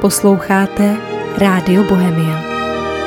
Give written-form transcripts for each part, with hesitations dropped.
Posloucháte Rádio Bohemia.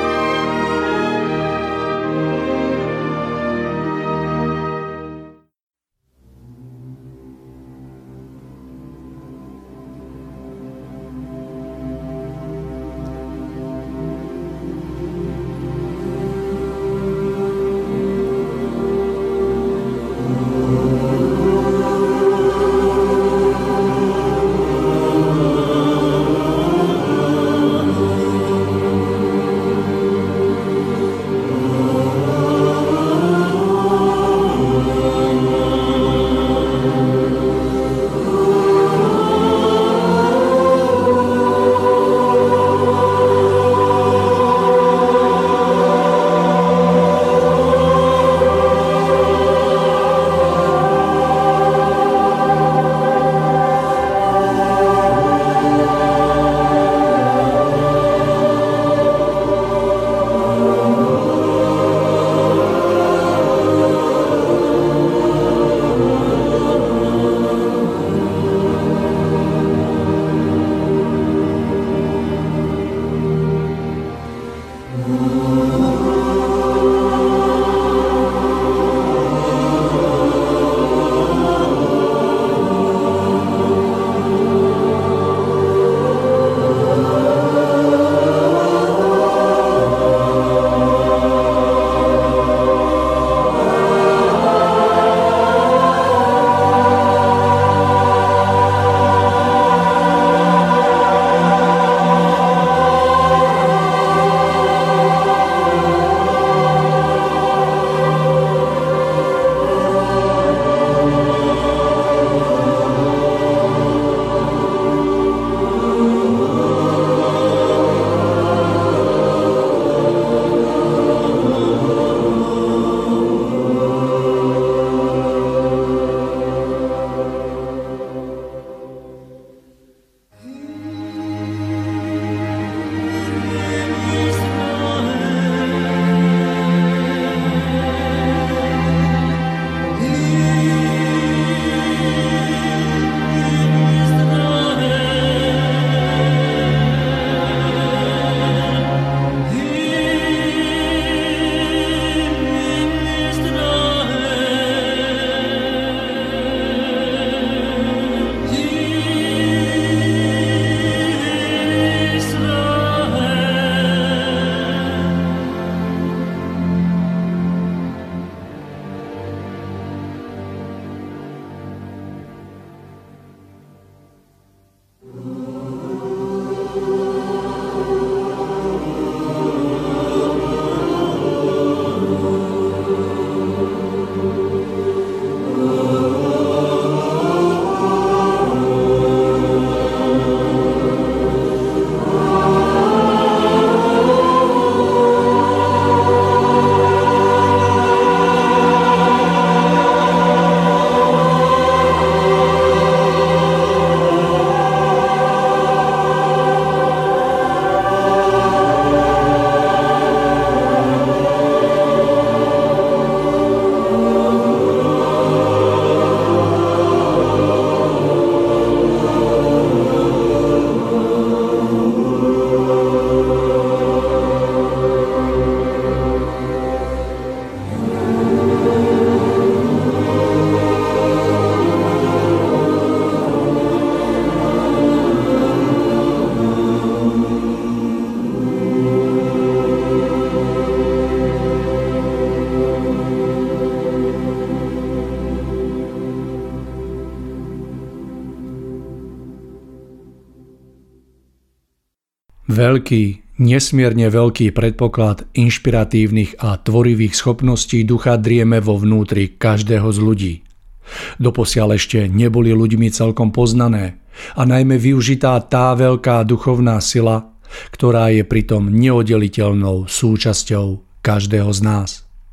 Veľký, nesmierne veľký predpoklad inšpiratívnych a tvorivých schopností ducha drieme vo vnútri každého z ľudí. Doposiaľ ešte neboli ľuďmi celkom poznané a najmä využitá tá veľká duchovná sila, ktorá je pritom neoddeliteľnou súčasťou každého z nás.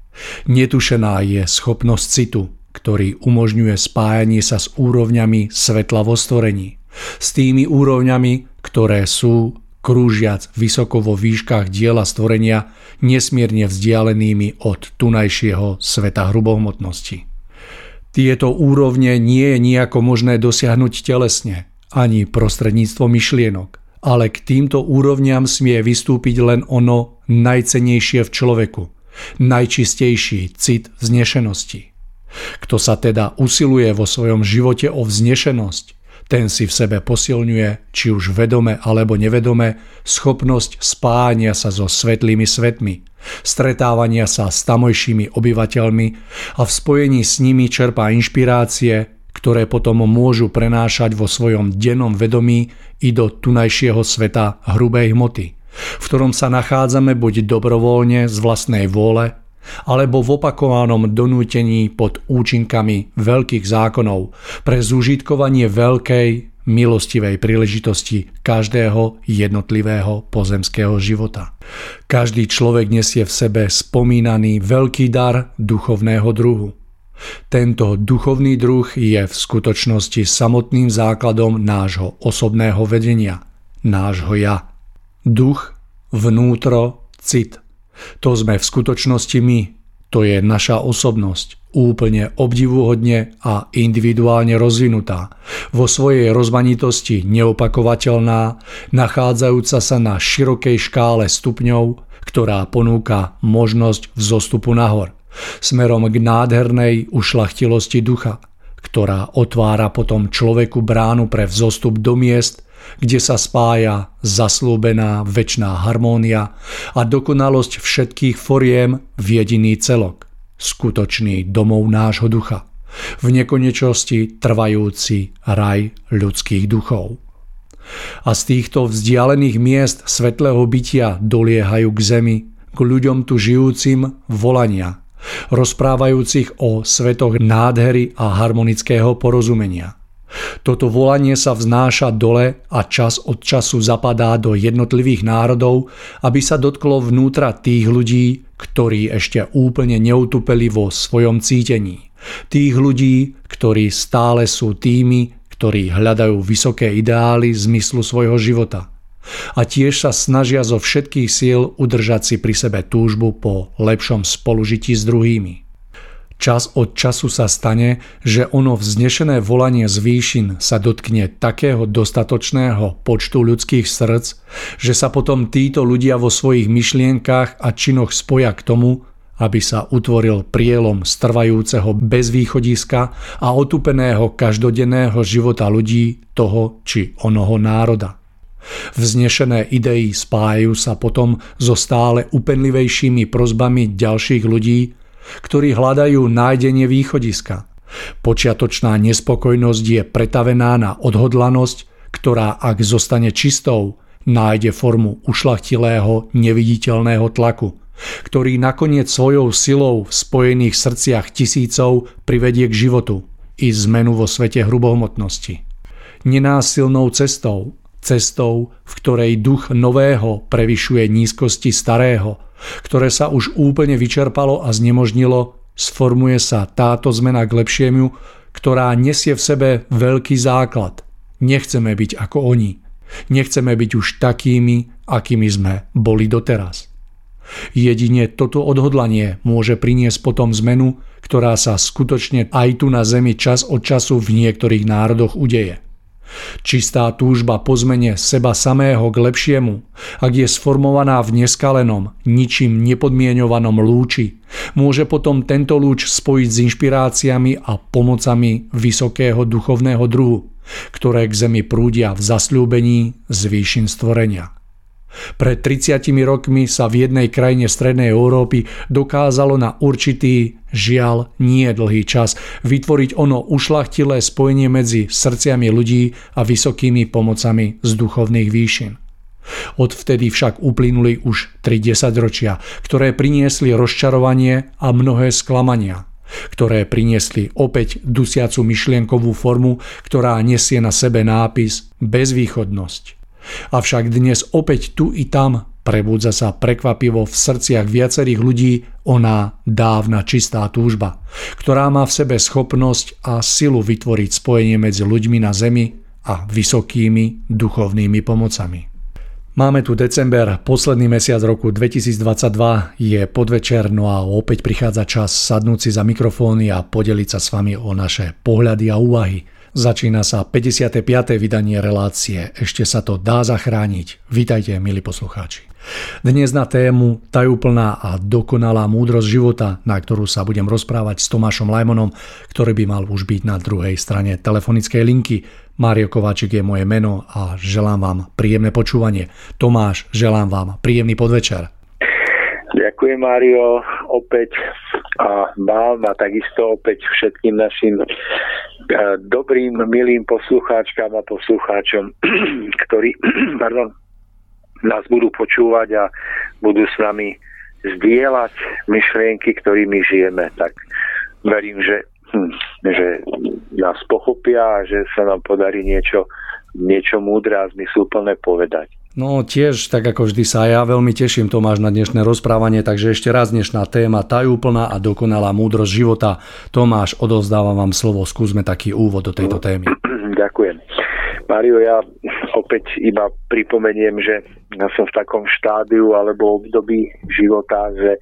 Netušená je schopnosť citu, ktorý umožňuje spájanie sa s úrovňami svetla vo stvorení, s tými úrovňami, ktoré sú, krúžiac vysoko vo výškach diela stvorenia, nesmierne vzdialenými od tunajšieho sveta hrubohmotnosti. Tieto úrovne nie je nejako možné dosiahnuť telesne, ani prostredníctvom myšlienok, ale k týmto úrovniam smie vystúpiť len ono najcennejšie v človeku, najčistejší cit vznešenosti. Kto sa teda usiluje vo svojom živote o vznešenosť, ten si v sebe posilňuje, či už vedome alebo nevedome, schopnosť spájania sa so svetlými svetmi, stretávania sa s tamojšími obyvateľmi a v spojení s nimi čerpá inšpirácie, ktoré potom môžu prenášať vo svojom dennom vedomí i do tunajšieho sveta hrubej hmoty, v ktorom sa nachádzame buď dobrovoľne z vlastnej vôle, alebo v opakovanom donútení pod účinkami veľkých zákonov pre zúžitkovanie veľkej, milostivej príležitosti každého jednotlivého pozemského života. Každý človek nesie v sebe spomínaný veľký dar duchovného druhu. Tento duchovný druh je v skutočnosti samotným základom nášho osobného vedenia, nášho ja. Duch, vnútro, cit. To sme v skutočnosti my, to je naša osobnosť, úplne obdivuhodne a individuálne rozvinutá, vo svojej rozmanitosti neopakovateľná, nachádzajúca sa na širokej škále stupňov, ktorá ponúka možnosť vzostupu nahor, smerom k nádhernej ušľachtilosti ducha, ktorá otvára potom človeku bránu pre vzostup do miest, kde sa spája zasľúbená večná harmónia a dokonalosť všetkých foriem v jediný celok, skutočný domov nášho ducha, v nekonečnosti trvajúci raj ľudských duchov. A z týchto vzdialených miest svetlého bytia doliehajú k zemi, k ľuďom tu žijúcim volania, rozprávajúcich o svetoch nádhery a harmonického porozumenia. Toto volanie sa vznáša dole a čas od času zapadá do jednotlivých národov, aby sa dotklo vnútra tých ľudí, ktorí ešte úplne neutupeli vo svojom cítení. Tých ľudí, ktorí stále sú tými, ktorí hľadajú vysoké ideály zmyslu svojho života. A tiež sa snažia zo všetkých síl udržať si pri sebe túžbu po lepšom spolužití s druhými. Čas od času sa stane, že ono vznešené volanie z výšin sa dotkne takého dostatočného počtu ľudských srdc, že sa potom títo ľudia vo svojich myšlienkach a činoch spoja k tomu, aby sa utvoril prielom strvajúceho bez východiska a otupeného každodenného života ľudí toho či onoho národa. Vznešené idei spájajú sa potom so stále upenlivejšími prosbami ďalších ľudí, ktorí hľadajú nájdenie východiska. Počiatočná nespokojnosť je pretavená na odhodlanosť, ktorá, ak zostane čistou, nájde formu ušľachtilého, neviditeľného tlaku, ktorý nakoniec svojou silou v spojených srdciach tisícov privedie k životu i zmenu vo svete hrubohmotnosti. Nenásilnou cestou, v ktorej duch nového prevyšuje nízkosti starého, ktoré sa už úplne vyčerpalo a znemožnilo, sformuje sa táto zmena k lepšiemu, ktorá nesie v sebe veľký základ. Nechceme byť ako oni. Nechceme byť už takými, akými sme boli doteraz. Jedine toto odhodlanie môže priniesť potom zmenu, ktorá sa skutočne aj tu na zemi čas od času v niektorých národoch udeje. Čistá túžba po zmene seba samého k lepšiemu, ak je sformovaná v neskalenom, ničím nepodmienovanom lúči, môže potom tento lúč spojiť s inšpiráciami a pomocami vysokého duchovného druhu, ktoré k zemi prúdia v zasľúbení z výšin stvorenia. Pred 30 rokmi sa v jednej krajine strednej Európy dokázalo na určitý, žiaľ nie dlhý čas, vytvoriť ono ušľachtilé spojenie medzi srdciami ľudí a vysokými pomocami z duchovných výšin. Odvtedy však uplynuli už 3 desaťročia, ktoré priniesli rozčarovanie a mnohé sklamania, ktoré priniesli opäť dusiacu myšlienkovú formu, ktorá nesie na sebe nápis bezvýchodnosť. Avšak dnes opäť tu i tam prebúdza sa prekvapivo v srdciach viacerých ľudí oná dávna čistá túžba, ktorá má v sebe schopnosť a silu vytvoriť spojenie medzi ľuďmi na zemi a vysokými duchovnými pomocami. Máme tu december, posledný mesiac roku 2022, je podvečer, no a opäť prichádza čas sadnúť si za mikrofóny a podeliť sa s vami o naše pohľady a úvahy Začína sa 55. vydanie relácie. Ešte sa to dá zachrániť. Vítajte, milí poslucháči. Dnes na tému tajúplná a dokonalá múdrosť života, na ktorú sa budem rozprávať s Tomášom Lajmonom, ktorý by mal už byť na druhej strane telefonickej linky. Mário Kováčik je moje meno a želám vám príjemné počúvanie. Tomáš, želám vám príjemný podvečer. Ďakujem, Mário, opäť a vám a takisto opäť všetkým našim dobrým, milým poslucháčkám a poslucháčom, ktorí nás budú počúvať a budú s nami zdieľať myšlienky, ktorými žijeme. Tak verím, že nás pochopia a že sa nám podarí niečo múdre a zmysluplné povedať. No tiež, tak ako vždy sa ja veľmi teším, Tomáš, na dnešné rozprávanie, takže ešte raz dnešná téma tajúplná a dokonalá múdrosť života. Tomáš, odovzdávam vám slovo, skúsme taký úvod do tejto témy. Ďakujem. Mário, ja opäť iba pripomeniem, že ja som v takom štádiu alebo období života, že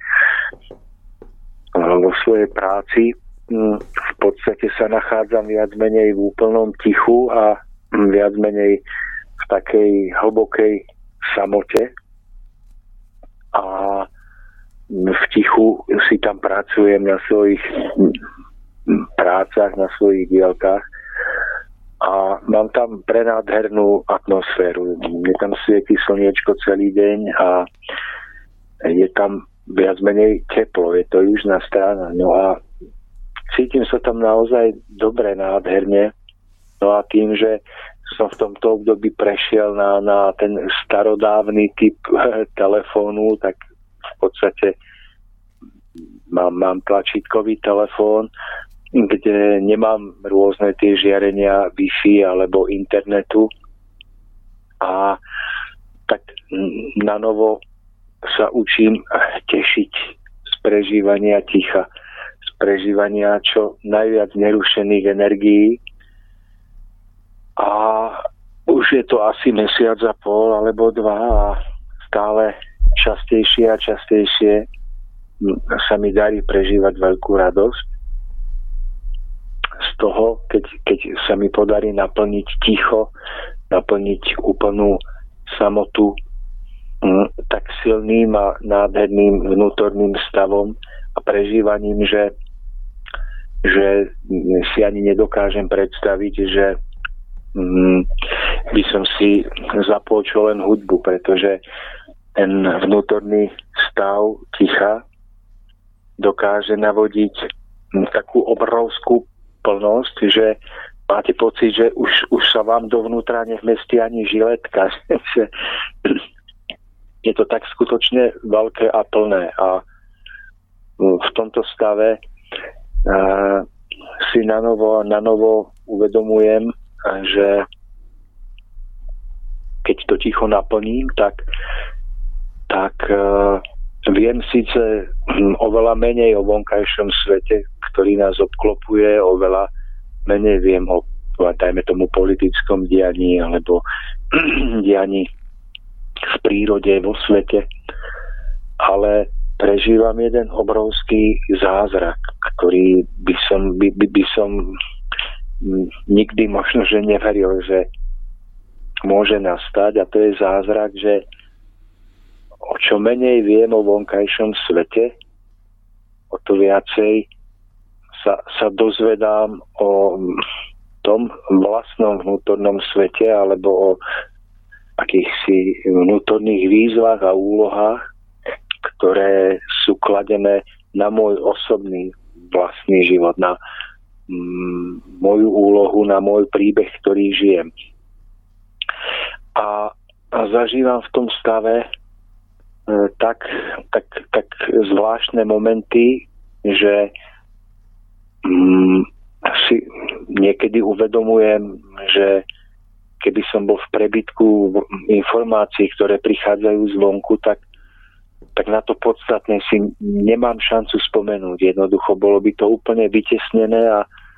vo svojej práci v podstate sa nachádzam viac menej v úplnom tichu a viac menej v takej hlbokej samote a v tichu si tam pracujem na svojich prácach, na svojich dielkách a mám tam prenádhernú atmosféru. Je tam svieti slniečko celý deň a je tam viac menej teplo, je to južná strana. No a cítim sa tam naozaj dobre, nádherne. No a tým, že som v tomto období prešiel na ten starodávny typ telefónu, tak v podstate mám tlačítkový telefón, kde nemám rôzne tie žiarenia Wi-Fi alebo internetu a tak na novo sa učím tešiť z prežívania ticha, z prežívania čo najviac nerušených energií. A už je to asi mesiac a pol alebo dva a stále častejšie a častejšie sa mi darí prežívať veľkú radosť z toho, keď sa mi podarí naplniť ticho, naplniť úplnú samotu tak silným a nádherným vnútorným stavom a prežívaním, že si ani nedokážem predstaviť, že by som si zapol čo len hudbu, pretože ten vnútorný stav ticha dokáže navodiť takú obrovskú plnosť, že máte pocit, že už sa vám dovnútra nevmestí ani žiletka. Je to tak skutočne veľké a plné a v tomto stave si na novo uvedomujem, že keď to ticho naplním, tak viem síce oveľa menej o vonkajšom svete, ktorý nás obklopuje, oveľa menej viem o, dajme tomu, politickom dianí alebo dianí v prírode, vo svete, ale prežívam jeden obrovský zázrak, ktorý by som nikdy možno, že neveril, že môže nastať, a to je zázrak, že o čo menej viem o vonkajšom svete, o to viacej sa dozvedám o tom vlastnom vnútornom svete alebo o akýchsi vnútorných výzvach a úlohách, ktoré sú kladené na môj osobný vlastný život, na moju úlohu, na môj príbeh, ktorý žijem. A zažívam v tom stave tak zvláštne momenty, že si niekedy uvedomujem, že keby som bol v prebytku informácií, ktoré prichádzajú zvonku, tak na to podstatné si nemám šancu spomenúť. Jednoducho bolo by to úplne vytesnené a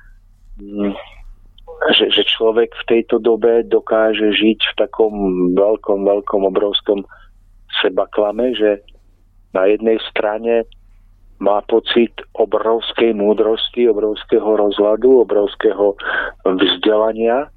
že človek v tejto dobe dokáže žiť v takom veľkom, obrovskom sebaklame, že na jednej strane má pocit obrovskej múdrosti, obrovského rozhľadu, obrovského vzdelania,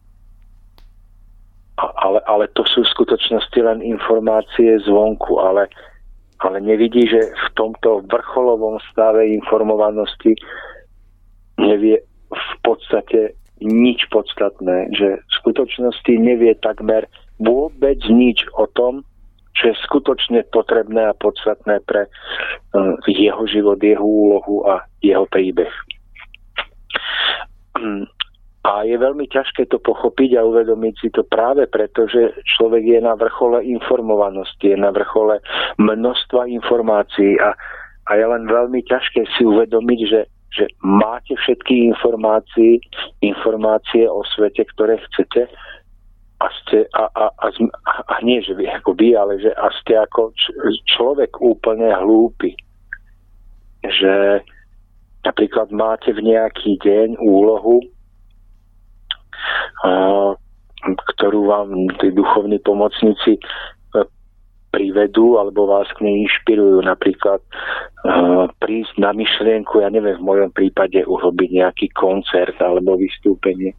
ale to sú v skutočnosti len informácie zvonku, ale nevidí, že v tomto vrcholovom stave informovanosti nevie v podstate nič podstatné, že v skutočnosti nevie takmer vôbec nič o tom, čo je skutočne potrebné a podstatné pre jeho život, jeho úlohu a jeho príbeh. A je veľmi ťažké to pochopiť a uvedomiť si to práve preto, že človek je na vrchole informovanosti, je na vrchole množstva informácií a je len veľmi ťažké si uvedomiť, že máte všetky informácie o svete, ktoré chcete a nie, že vy ako vy, ale že ste ako človek úplne hlúpy. Že napríklad máte v nejaký deň úlohu, ktorú vám tí duchovní pomocníci privedú alebo vás k nej inšpirujú, napríklad prísť na myšlienku, ja neviem, v mojom prípade urobiť nejaký koncert alebo vystúpenie,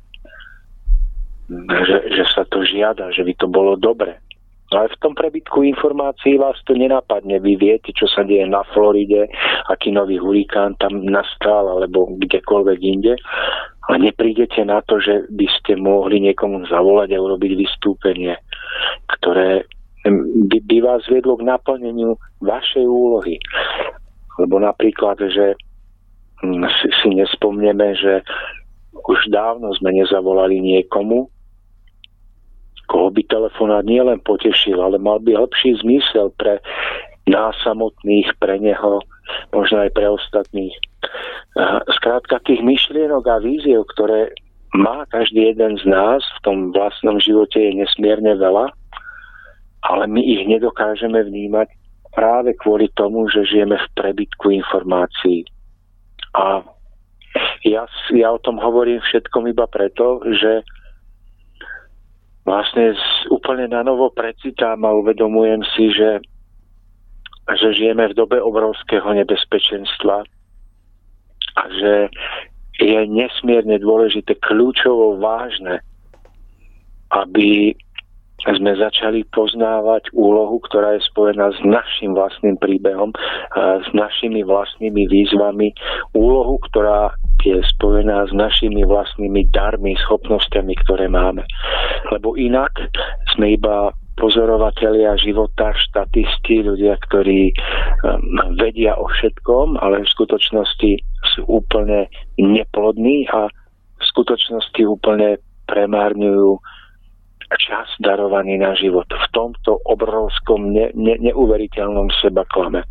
že sa to žiada, že by to bolo dobre. Ale v tom prebytku informácií vás to nenapadne. Vy viete, čo sa deje na Floride, aký nový hurikán tam nastal, alebo kdekoľvek inde. A neprídete na to, že by ste mohli niekomu zavolať a urobiť vystúpenie, ktoré by vás viedlo k naplneniu vašej úlohy. Lebo napríklad, že si nespomneme, že už dávno sme nezavolali niekomu, koho by telefonát nielen potešil, ale mal by hlbší zmysel pre nás samotných, pre neho, možno aj pre ostatných. Skrátka tých myšlienok a víziev, ktoré má každý jeden z nás v tom vlastnom živote, je nesmierne veľa, ale my ich nedokážeme vnímať práve kvôli tomu, že žijeme v prebytku informácií. A ja o tom hovorím všetkom iba preto, že vlastne úplne na novo precitám a uvedomujem si, že žijeme v dobe obrovského nebezpečenstva a že je nesmierne dôležité, kľúčovo vážne, aby sme začali poznávať úlohu, ktorá je spojená s našim vlastným príbehom, s našimi vlastnými výzvami, úlohu, ktorá je spojená s našimi vlastnými darmi, schopnosťami, ktoré máme. Lebo inak sme iba pozorovatelia života, štatisti, ľudia, ktorí vedia o všetkom, ale v skutočnosti sú úplne neplodní a v skutočnosti úplne premárňujú čas darovaný na život v tomto obrovskom neuveriteľnom sebaklame.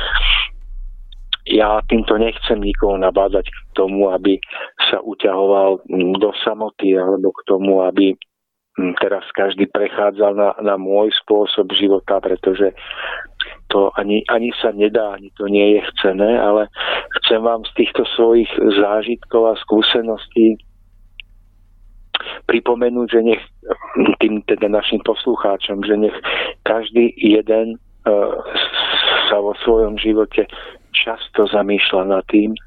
Ja týmto nechcem nikoho nabádať k tomu, aby sa uťahoval do samoty alebo k tomu, aby teraz každý prechádzal na môj spôsob života, pretože to ani sa nedá, ani to nie je chcené, ale chcem vám z týchto svojich zážitkov a skúseností pripomenúť, že nech tým teda našim poslucháčom, že nech každý jeden sa vo svojom živote často zamýšľa nad tým,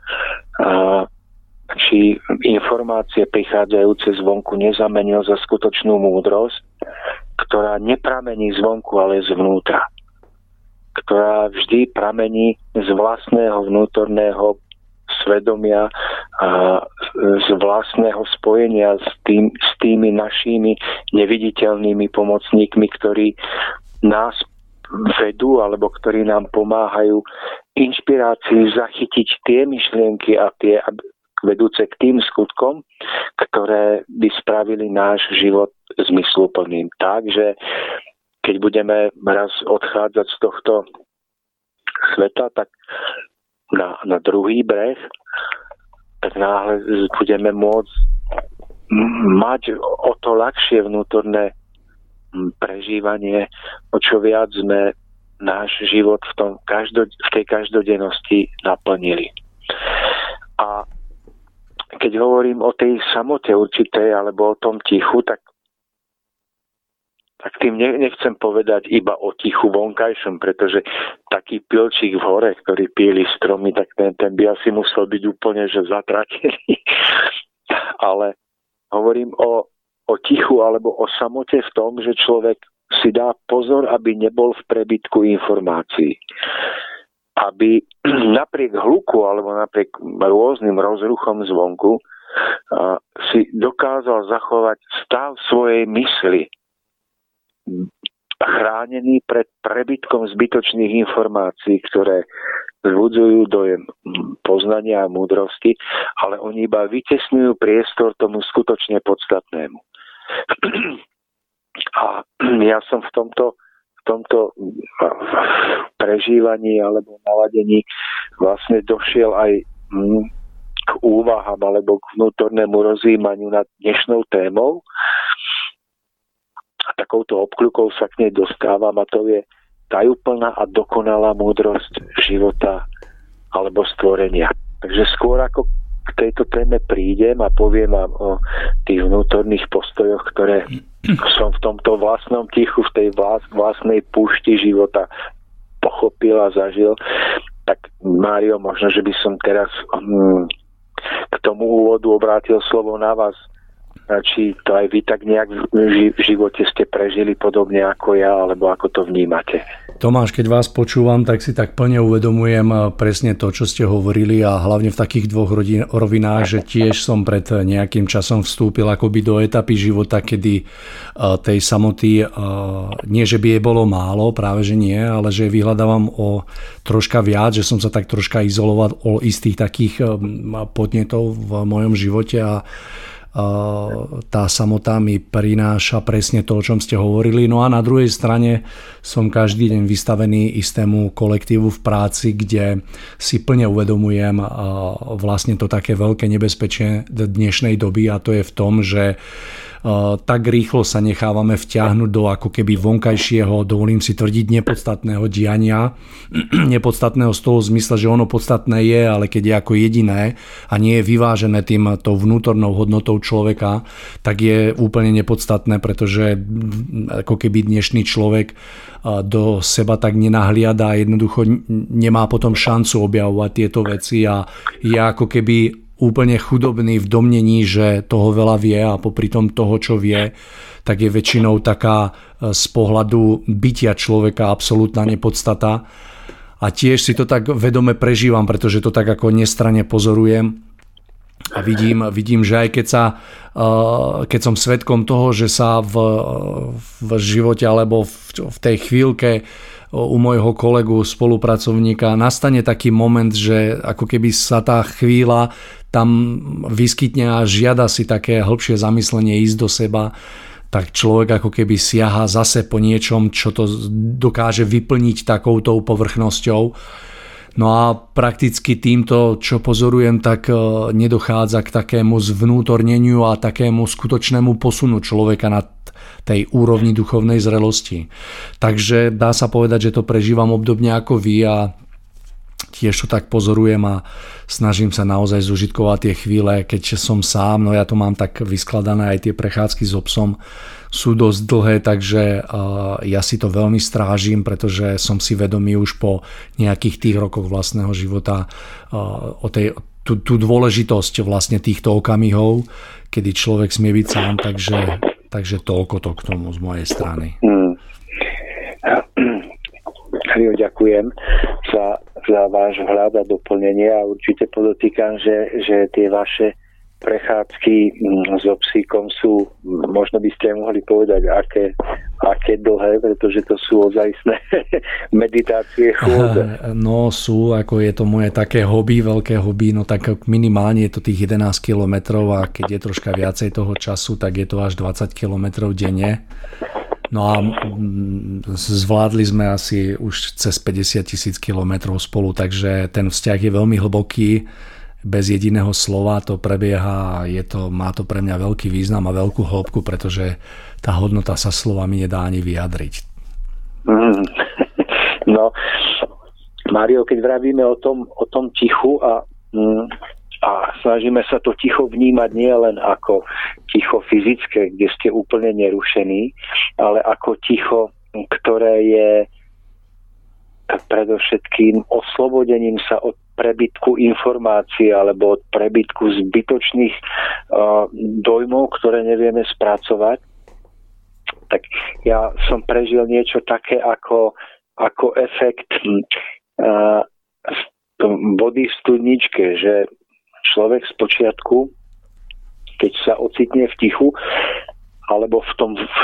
či informácie prichádzajúce zvonku nezamenil za skutočnú múdrosť, ktorá nepramení zvonku, ale zvnútra. Ktorá vždy pramení z vlastného vnútorného svedomia a z vlastného spojenia s tými našimi neviditeľnými pomocníkmi, ktorí nás vedú alebo ktorí nám pomáhajú inšpirácii zachytiť tie myšlienky a tie vedúce k tým skutkom, ktoré by spravili náš život zmysluplným. Takže keď budeme raz odchádzať z tohto sveta, tak na druhý breh, tak náhle budeme môcť mať o to ľahšie vnútorné prežívanie, o čo viac sme náš život v tej každodennosti naplnili. A keď hovorím o tej samote určitej alebo o tom tichu, tak tak tým nechcem povedať iba o tichu vonkajšom, pretože taký pilčík v hore, ktorý píli stromy, tak ten by asi musel byť úplne že zatratený. Ale hovorím o tichu alebo o samote v tom, že človek si dá pozor, aby nebol v prebytku informácií. Aby napriek hluku alebo napriek rôznym rozruchom zvonku si dokázal zachovať stav svojej mysli, chránený pred prebytkom zbytočných informácií, ktoré vzbudzujú dojem poznania a múdrosti, ale oni iba vytesňujú priestor tomu skutočne podstatnému. A ja som v tomto prežívaní alebo naladení vlastne došiel aj k úvahám alebo k vnútornému rozjímaniu nad dnešnou témou. A takouto obkľukou sa k nej dostávam, a to je tajúplná a dokonalá múdrosť života alebo stvorenia. Takže skôr ako k tejto téme prídem a poviem vám o tých vnútorných postojoch, ktoré som v tomto vlastnom tichu, v tej vlastnej púšti života pochopil a zažil, tak Mário, možno, že by som teraz k tomu úvodu obrátil slovo na vás. Či to aj vy tak nejak v živote ste prežili podobne ako ja, alebo ako to vnímate? Tomáš, keď vás počúvam, tak si tak plne uvedomujem presne to, čo ste hovorili, a hlavne v takých dvoch rovinách, že tiež som pred nejakým časom vstúpil akoby do etapy života, kedy tej samoty, nie že by jej bolo málo, práve že nie, ale že vyhľadávam o troška viac, že som sa tak troška izoloval o istých takých podnetov v mojom živote, a tá samota mi prináša presne to, o čom ste hovorili. No a na druhej strane som každý deň vystavený istému kolektívu v práci, kde si plne uvedomujem vlastne to také veľké nebezpečie dnešnej doby, a to je v tom, že tak rýchlo sa nechávame vtiahnuť do ako keby vonkajšieho, dovolím si tvrdiť, nepodstatného diania. Nepodstatného z toho zmysle, že ono podstatné je, ale keď je ako jediné a nie je vyvážené tou vnútornou hodnotou človeka, tak je úplne nepodstatné, pretože ako keby dnešný človek do seba tak nenahliada a jednoducho nemá potom šancu objavovať tieto veci a je ako keby úplne chudobný v domnení, že toho veľa vie, a popri tom toho, čo vie, tak je väčšinou taká z pohľadu bytia človeka absolútna nepodstata. A tiež si to tak vedome prežívam, pretože to tak ako nestranne pozorujem a vidím, že aj keď som svedkom toho, že sa v živote alebo v tej chvíľke u môjho kolegu, spolupracovníka nastane taký moment, že ako keby sa tá chvíľa tam vyskytne a žiada si také hĺbšie zamyslenie, ísť do seba, tak človek ako keby siaha zase po niečom, čo to dokáže vyplniť takoutou povrchnosťou. No a prakticky týmto, čo pozorujem, tak nedochádza k takému zvnútorneniu a takému skutočnému posunu človeka na tej úrovni duchovnej zrelosti. Takže dá sa povedať, že to prežívam obdobne ako vy, a tiež to tak pozorujem a snažím sa naozaj zužitkovať tie chvíle, keď som sám. No ja to mám tak vyskladané, aj tie prechádzky s psom sú dosť dlhé, takže ja si to veľmi strážim, pretože som si vedomý už po nejakých tých rokoch vlastného života o tú dôležitosť vlastne týchto okamihov, kedy človek smie byť sám, takže toľko to k tomu z mojej strany. Ďakujem za váš vhľad a doplnenie, a určite podotýkam, že tie vaše prechádzky so psíkom sú, možno by ste mohli povedať, aké dlhé, pretože to sú ozajstné meditácie, chôdze. No sú, ako je to moje také hobby, veľké hobby, no tak minimálne je to tých 11 kilometrov, a keď je troška viacej toho času, tak je to až 20 kilometrov denne. No a zvládli sme asi už cez 50 000 kilometrov spolu, takže ten vzťah je veľmi hlboký, bez jediného slova to prebieha a má to pre mňa veľký význam a veľkú hĺbku, pretože tá hodnota sa slovami nedá ani vyjadriť. No, Mário, keď vravíme o tom tichu a A snažíme sa to ticho vnímať nie len ako ticho fyzické, kde ste úplne nerušení, ale ako ticho, ktoré je predovšetkým oslobodením sa od prebytku informácií alebo od prebytku zbytočných dojmov, ktoré nevieme spracovať. Tak ja som prežil niečo také ako efekt vody v studničke, že človek z počiatku, keď sa ocitne v tichu, alebo v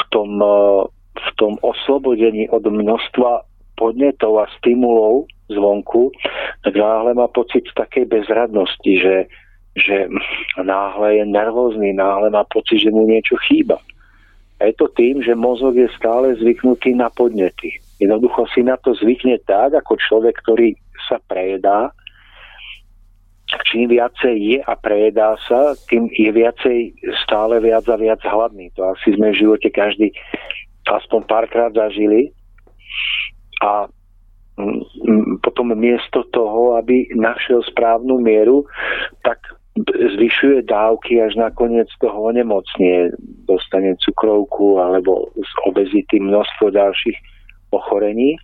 tom oslobodení od množstva podnetov a stimulov zvonku, tak náhle má pocit takej bezradnosti, že náhle je nervózny, náhle má pocit, že mu niečo chýba. A je to tým, že mozog je stále zvyknutý na podnety. Jednoducho si na to zvykne tak, ako človek, ktorý sa prejedá. Čím viacej je a prejedá sa, tým je viacej stále viac a viac hladný. To asi sme v živote každý aspoň párkrát zažili. A potom miesto toho, aby našiel správnu mieru, tak zvyšuje dávky, až nakoniec toho onemocnie. Dostane cukrovku alebo z obezity množstvo ďalších ochorení.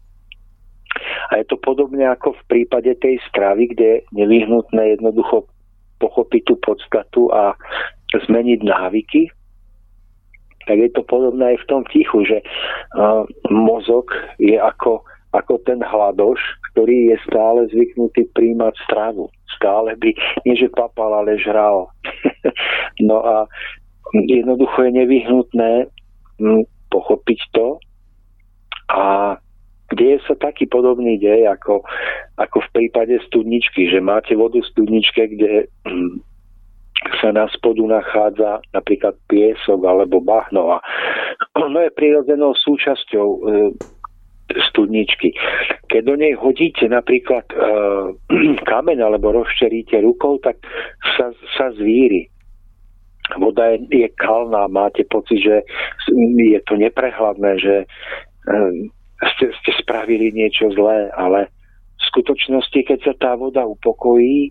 A je to podobne ako v prípade tej stravy, kde je nevyhnutné jednoducho pochopiť tú podstatu a zmeniť návyky. Tak je to podobné aj v tom tichu, že mozog je ako ten hladoš, ktorý je stále zvyknutý príjmať stravu. Stále by, nie že papal, ale žral. No a jednoducho je nevyhnutné pochopiť to a deje sa taký podobný dej, ako v prípade studničky, že máte vodu v studničke, kde sa na spodu nachádza napríklad piesok alebo bahno a ono je prirodzenou súčasťou studničky. Keď do nej hodíte napríklad kameň alebo rozčeríte rukou, tak sa zvíri. Voda je kalná, máte pocit, že je to neprehľadné, že ste spravili niečo zlé, ale v skutočnosti, keď sa tá voda upokojí,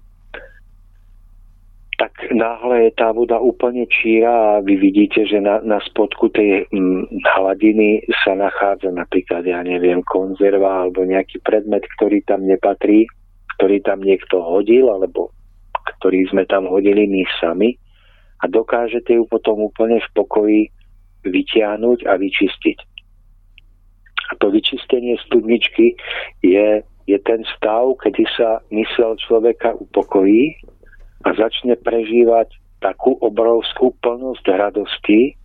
tak náhle je tá voda úplne číra a vy vidíte, že na spodku tej hladiny sa nachádza napríklad, ja neviem, konzerva alebo nejaký predmet, ktorý tam nepatrí, ktorý tam niekto hodil alebo ktorý sme tam hodili my sami a dokážete ju potom úplne v pokoji vytiahnuť a vyčistiť. A to vyčistenie studničky je ten stav, kedy sa mysel človeka upokojí a začne prežívať takú obrovskú plnosť radosti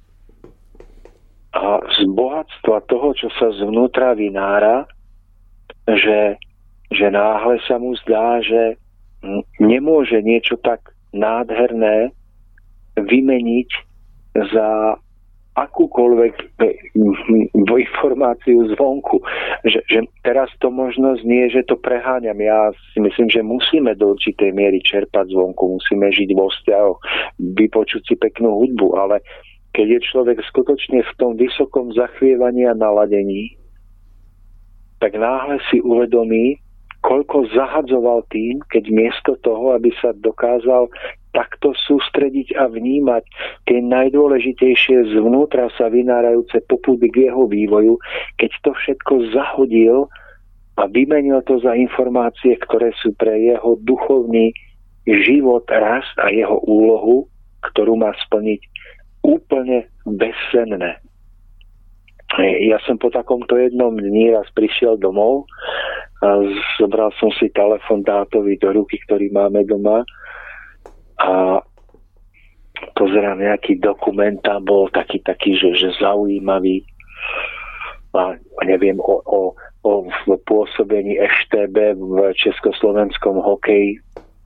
a z bohatstva toho, čo sa zvnútra vynára, že náhle sa mu zdá, že nemôže niečo tak nádherné vymeniť za akúkoľvek informáciu zvonku. Že teraz to možno znie, že to preháňam. Ja si myslím, že musíme do určitej miery čerpať zvonku, musíme žiť vo vzťahoch, vypočuť si peknú hudbu, ale keď je človek skutočne v tom vysokom zachvievaní a naladení, tak náhle si uvedomí, koľko zahadzoval tým, keď miesto toho, aby sa dokázal takto sústrediť a vnímať tie najdôležitejšie zvnútra sa vynárajúce popudy k jeho vývoju, keď to všetko zahodil a vymenil to za informácie, ktoré sú pre jeho duchovný život, rast a jeho úlohu, ktorú má splniť, úplne bezcenné. Ja som po takomto jednom dni raz prišiel domov a zobral som si telefon dátový do ruky, ktorý máme doma a pozerám nejaký dokument, tam bol taký že zaujímavý a neviem o pôsobení EŠTB v československom hokeji.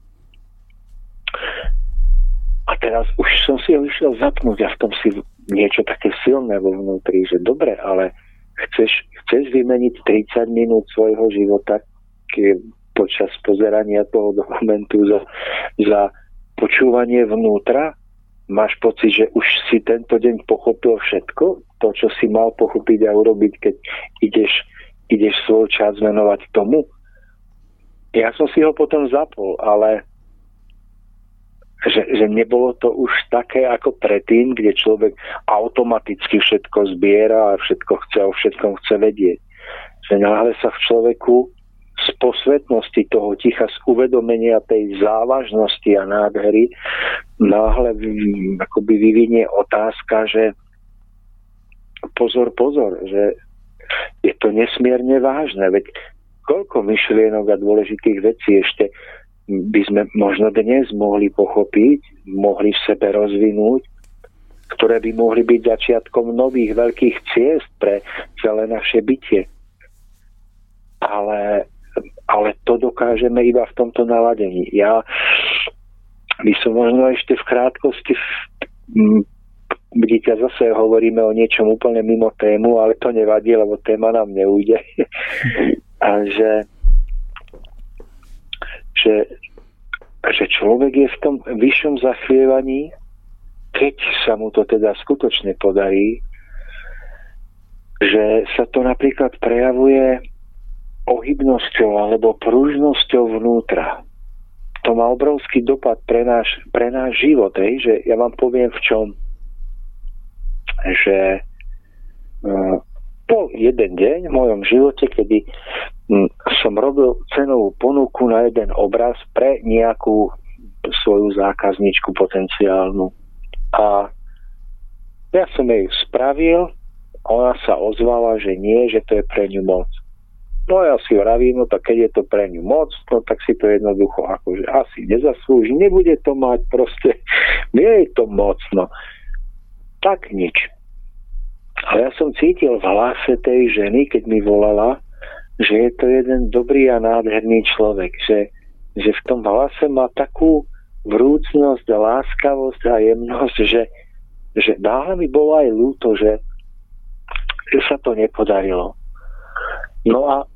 A teraz už som si ho išiel zapnúť a v tom si niečo také silné vo vnútri, že dobre, ale chceš vymeniť 30 minút svojho života počas pozerania toho dokumentu za počúvanie vnútra? Máš pocit, že už si tento deň pochopil všetko? To, čo si mal pochopiť a urobiť, keď ideš svoj čas venovať tomu? Ja som si ho potom zapol, ale že nebolo to už také ako predtým, kde človek automaticky všetko zbiera a všetko chce, o všetkom chce vedieť. Že náhle sa v človeku z posvetnosti toho ticha, z uvedomenia tej závažnosti a nádhery náhle akoby vyvinie otázka, že pozor, že je to nesmierne vážne, veď koľko myšlienok a dôležitých vecí ešte by sme možno dnes mohli pochopiť, mohli v sebe rozvinúť, ktoré by mohli byť začiatkom nových veľkých ciest pre celé naše bytie. Ale to dokážeme iba v tomto naladení. Ja by som možno ešte v krátkosti vidíte, zase hovoríme o niečom úplne mimo tému, ale to nevadí, lebo téma nám neujde. A že človek je v tom vyššom zachvievaní, keď sa mu to teda skutočne podarí, že sa to napríklad prejavuje ohybnosťou alebo pružnosťou vnútra. To má obrovský dopad pre náš život, že ja vám poviem v čom. Že bol jeden deň v mojom živote, kedy som robil cenovú ponuku na jeden obraz pre nejakú svoju zákazničku potenciálnu. A ja som jej spravil, ona sa ozvala, že nie, že to je pre ňu moc. No ja si vravím, no tak keď je to pre ňu moc, no tak si to jednoducho akože asi nezaslúži, nebude to mať proste, nie je to moc, no. Tak nič. Ale ja som cítil v hlase tej ženy, keď mi volala, že je to jeden dobrý a nádherný človek, že v tom hlase má takú vrúcnosť, láskavosť a jemnosť, že náhle mi bolo aj ľúto, že sa to nepodarilo. No a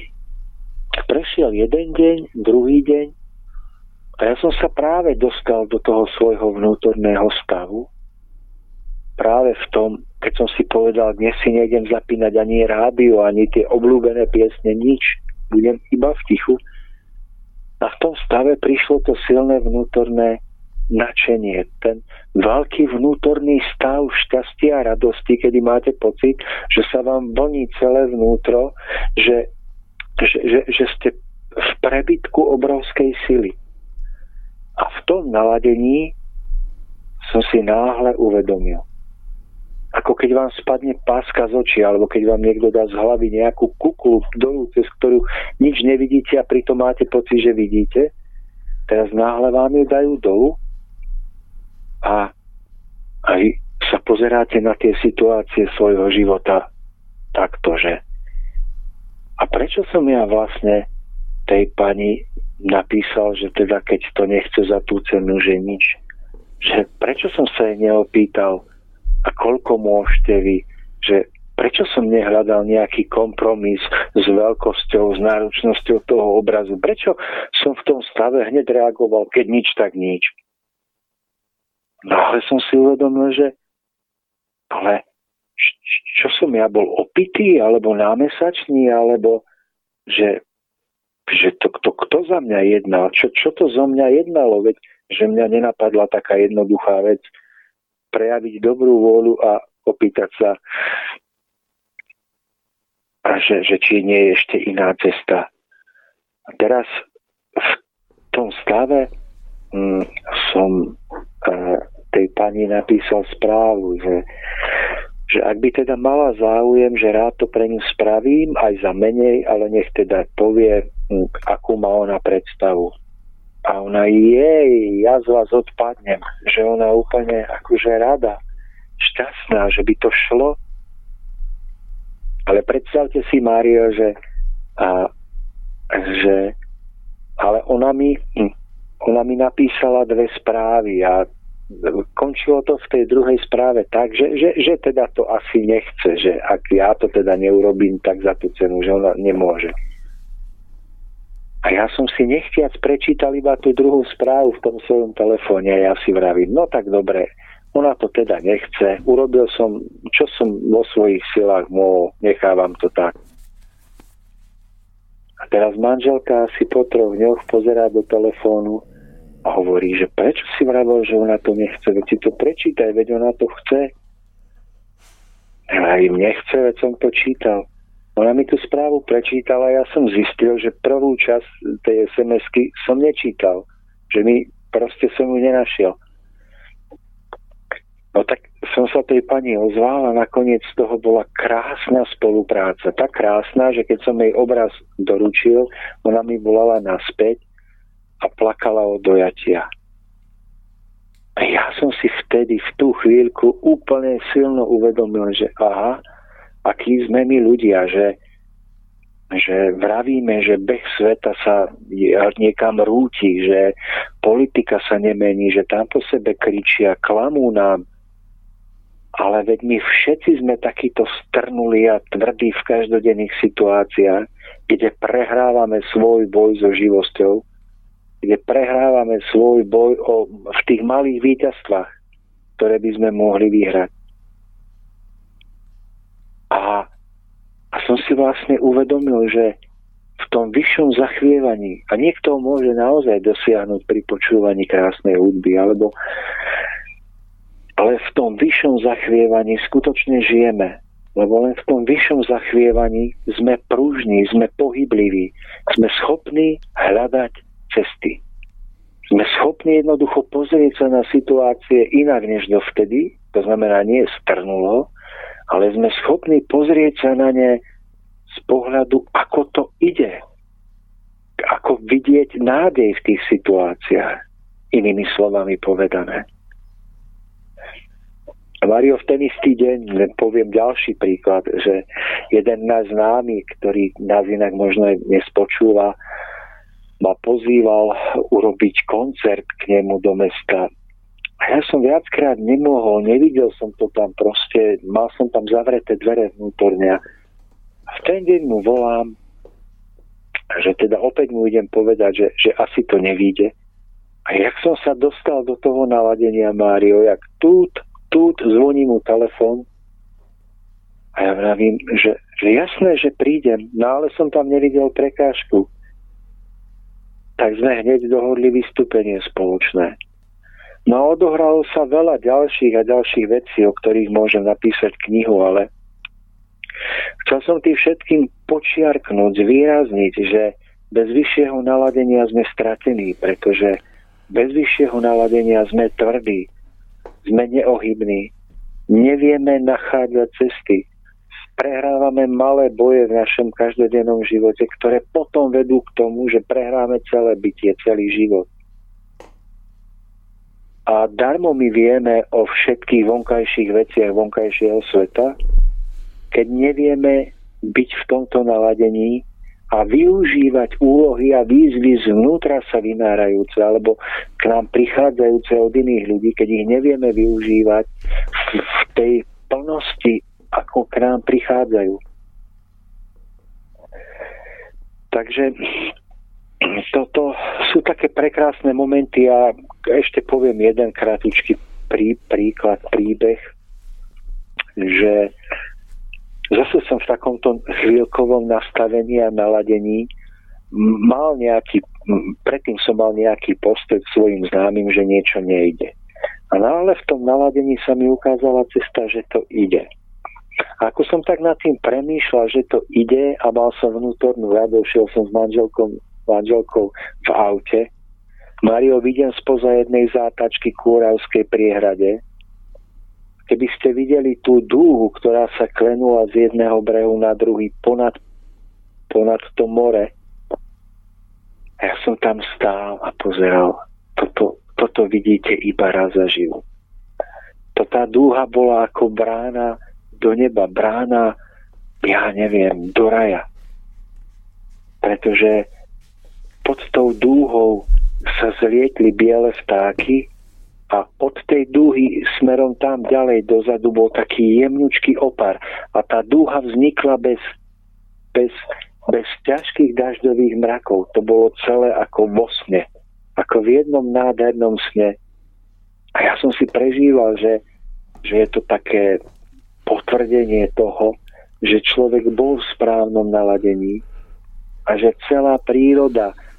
prešiel jeden deň, druhý deň a ja som sa práve dostal do toho svojho vnútorného stavu. Práve v tom, keď som si povedal, dnes si nejdem zapínať ani rádio, ani tie obľúbené piesne, nič. Budem iba v tichu. A v tom stave prišlo to silné vnútorné nadšenie. Ten veľký vnútorný stav šťastia a radosti, kedy máte pocit, že sa vám vlní celé vnútro, že ste v prebytku obrovskej sily. A v tom naladení som si náhle uvedomil. Ako keď vám spadne páska z očí, alebo keď vám niekto dá z hlavy nejakú kuklu dolu, cez ktorú nič nevidíte a pritom máte pocit, že vidíte. Teraz náhle vám ju dajú dolu a aj sa pozeráte na tie situácie svojho života takto, že a prečo som ja vlastne tej pani napísal, že teda keď to nechce za tú cenu, že nič. Že prečo som sa jej neopýtal, a koľko môžete vy, že prečo som nehľadal nejaký kompromis s veľkosťou, s náročnosťou toho obrazu, prečo som v tom stave hneď reagoval, keď nič, tak nič. No ale som si uvedomil, že ale čo som ja bol opitý, alebo námesačný, alebo že to kto za mňa jednal, čo to zo mňa jednalo, veď že mňa nenapadla taká jednoduchá vec, prejaviť dobrú vôľu a opýtať sa, že či nie je ešte iná cesta. A teraz v tom stave som tej pani napísal správu, že ak by teda mala záujem, že rád to pre ňu spravím, aj za menej, ale nech teda povie, akú má ona predstavu. A ona, ja z vás odpadnem, že ona úplne akože rada, šťastná, že by to šlo. Ale predstavte si, Mário, že ale ona mi napísala 2 správy a končilo to v tej druhej správe tak, že teda to asi nechce, že ak ja to teda neurobím, tak za tú cenu, že ona nemôže. A ja som si nechtiac prečítal iba tú druhú správu v tom svojom telefóne a ja si vravím, no tak dobre, ona to teda nechce, urobil som, čo som vo svojich silách mohol, nechávam to tak. A teraz manželka asi po 3 dňoch pozerá do telefónu A hovorí, že prečo si vravel, že ona to nechce, veď si to prečítaj, veď ona to chce. Ja im nechce, veď som to čítal. Ona mi tú správu prečítala a ja som zistil, že prvú časť tej SMS-ky som nečítal. Že proste som ju nenašiel. No tak som sa tej pani ozval a nakoniec z toho bola krásna spolupráca. Tak krásna, že keď som jej obraz doručil, ona mi volala naspäť a plakala od dojatia. A ja som si vtedy, v tú chvíľku úplne silno uvedomil, že aha, akí sme my ľudia, že vravíme, že beh sveta sa niekam rúti, že politika sa nemení, že tam po sebe kričia, klamú nám. Ale veď my všetci sme takíto strnuli a tvrdí v každodenných situáciách, kde prehrávame svoj boj so živosťou, kde prehrávame svoj boj v tých malých víťazstvách, ktoré by sme mohli vyhrať. A som si vlastne uvedomil, že v tom vyššom zachvievaní, a niekto môže naozaj dosiahnuť pri počúvaní krásnej hudby, ale v tom vyššom zachvievaní skutočne žijeme. Lebo len v tom vyššom zachvievaní sme pružní, sme pohybliví, sme schopní hľadať cesty. Sme schopní jednoducho pozrieť sa na situácie inak než dovtedy, to znamená nie strnulo, ale sme schopní pozrieť sa na ne z pohľadu, ako to ide. Ako vidieť nádej v tých situáciách. Inými slovami povedané. Mário, v ten istý deň, poviem ďalší príklad, že jeden náš známy, ktorý nás inak možno nespočúva, ma pozýval urobiť koncert k nemu do mesta. A ja som viackrát nemohol, nevidel som to tam proste, mal som tam zavreté dvere vnútorne. A v ten deň mu volám, že teda opäť mu idem povedať, že asi to nevíde. A jak som sa dostal do toho naladenia, Mário, jak tu zvoní mu telefón a ja vravím, že jasné, že prídem, no ale som tam nevidel prekážku. Tak sme hneď dohodli vystúpenie spoločné. No a odohralo sa veľa ďalších vecí, o ktorých môžem napísať knihu, ale chcel som tým všetkým počiarknúť, zvýrazniť, že bez vyššieho naladenia sme stratení, pretože bez vyššieho naladenia sme tvrdí, sme neohybní, nevieme nachádzať cesty, prehrávame malé boje v našom každodennom živote, ktoré potom vedú k tomu, že prehráme celé bytie, celý život. A darmo my vieme o všetkých vonkajších veciach vonkajšieho sveta, keď nevieme byť v tomto naladení a využívať úlohy a výzvy zvnútra sa vynárajúce alebo k nám prichádzajúce od iných ľudí, keď ich nevieme využívať v tej plnosti, ako k nám prichádzajú. Takže toto sú také prekrásne momenty a ešte poviem jeden kratučký príbeh, že zase som v takomto chvíľkovom nastavení a naladení predtým som mal nejaký postoj k svojim známym, že niečo nejde. Ale v tom naladení sa mi ukázala cesta, že to ide. A ako som tak nad tým premýšľal, že to ide a mal som vnútornú radosť, šiel som s manželkou v aute. Mário, vidím spoza jednej zátačky k Oravskej priehrade. Keby ste videli tú dúhu, ktorá sa klenula z jedného brehu na druhý ponad to more. Ja som tam stál a pozeral. Toto vidíte iba raz za život. Tá dúha bola ako brána do neba, brána, ja neviem, do raja. Pretože pod tou dúhou sa zlietli biele vtáky a od tej dúhy smerom tam ďalej dozadu bol taký jemnučký opar. A tá dúha vznikla bez ťažkých dažďových mrakov. To bolo celé ako vo sne. Ako v jednom nádhernom sne. A ja som si prežíval, že je to také potvrdenie toho, že človek bol v správnom naladení a že celá príroda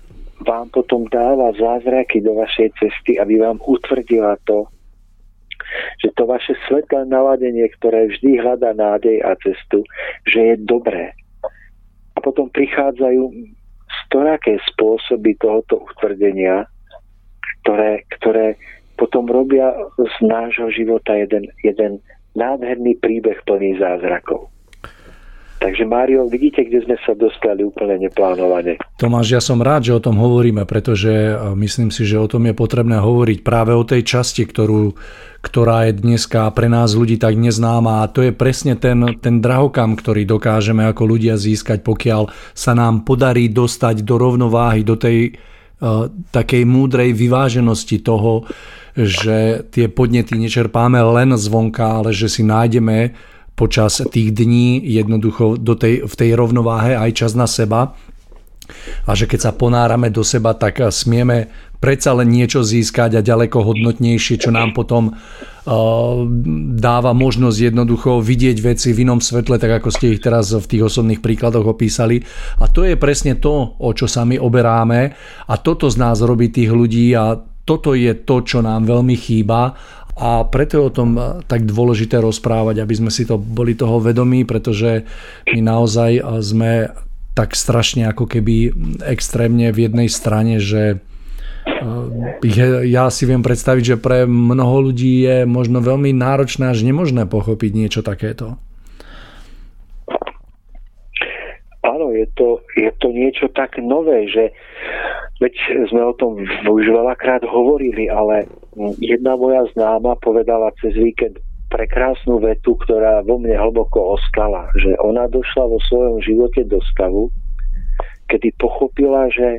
vám potom dáva zázraky do vašej cesty, aby vám utvrdila to, že to vaše svetlé naladenie, ktoré vždy hľadá nádej a cestu, že je dobré. A potom prichádzajú storaké spôsoby tohoto utvrdenia, ktoré potom robia z nášho života jeden nádherný príbeh plný zázrakov. Takže Mário, vidíte, kde sme sa dostali úplne neplánovane. Tomáš, ja som rád, že o tom hovoríme, pretože myslím si, že o tom je potrebné hovoriť práve o tej časti, ktorá je dneska pre nás ľudí tak neznáma, a to je presne ten drahokam, ktorý dokážeme ako ľudia získať, pokiaľ sa nám podarí dostať do rovnováhy, do tej takej múdrej vyváženosti toho, že tie podnety nečerpáme len zvonka, ale že si nájdeme počas tých dní jednoducho v tej rovnováhe aj čas na seba, a že keď sa ponárame do seba, tak smieme predsa len niečo získať a ďaleko hodnotnejšie, čo nám potom dáva možnosť jednoducho vidieť veci v inom svetle, tak ako ste ich teraz v tých osobných príkladoch opísali. A to je presne to, o čo sa my oberáme, a toto z nás robí tých ľudí, a toto je to, čo nám veľmi chýba. A preto je o tom tak dôležité rozprávať, aby sme si to boli toho vedomí, pretože my naozaj sme tak strašne ako keby extrémne v jednej strane, že ja si viem predstaviť, že pre mnoho ľudí je možno veľmi náročné až nemožné pochopiť niečo takéto. Áno, je to niečo tak nové, že veď sme o tom už veľakrát hovorili, ale jedna moja známa povedala cez víkend prekrásnu vetu, ktorá vo mne hlboko ostala, že ona došla vo svojom živote do stavu, kedy pochopila, že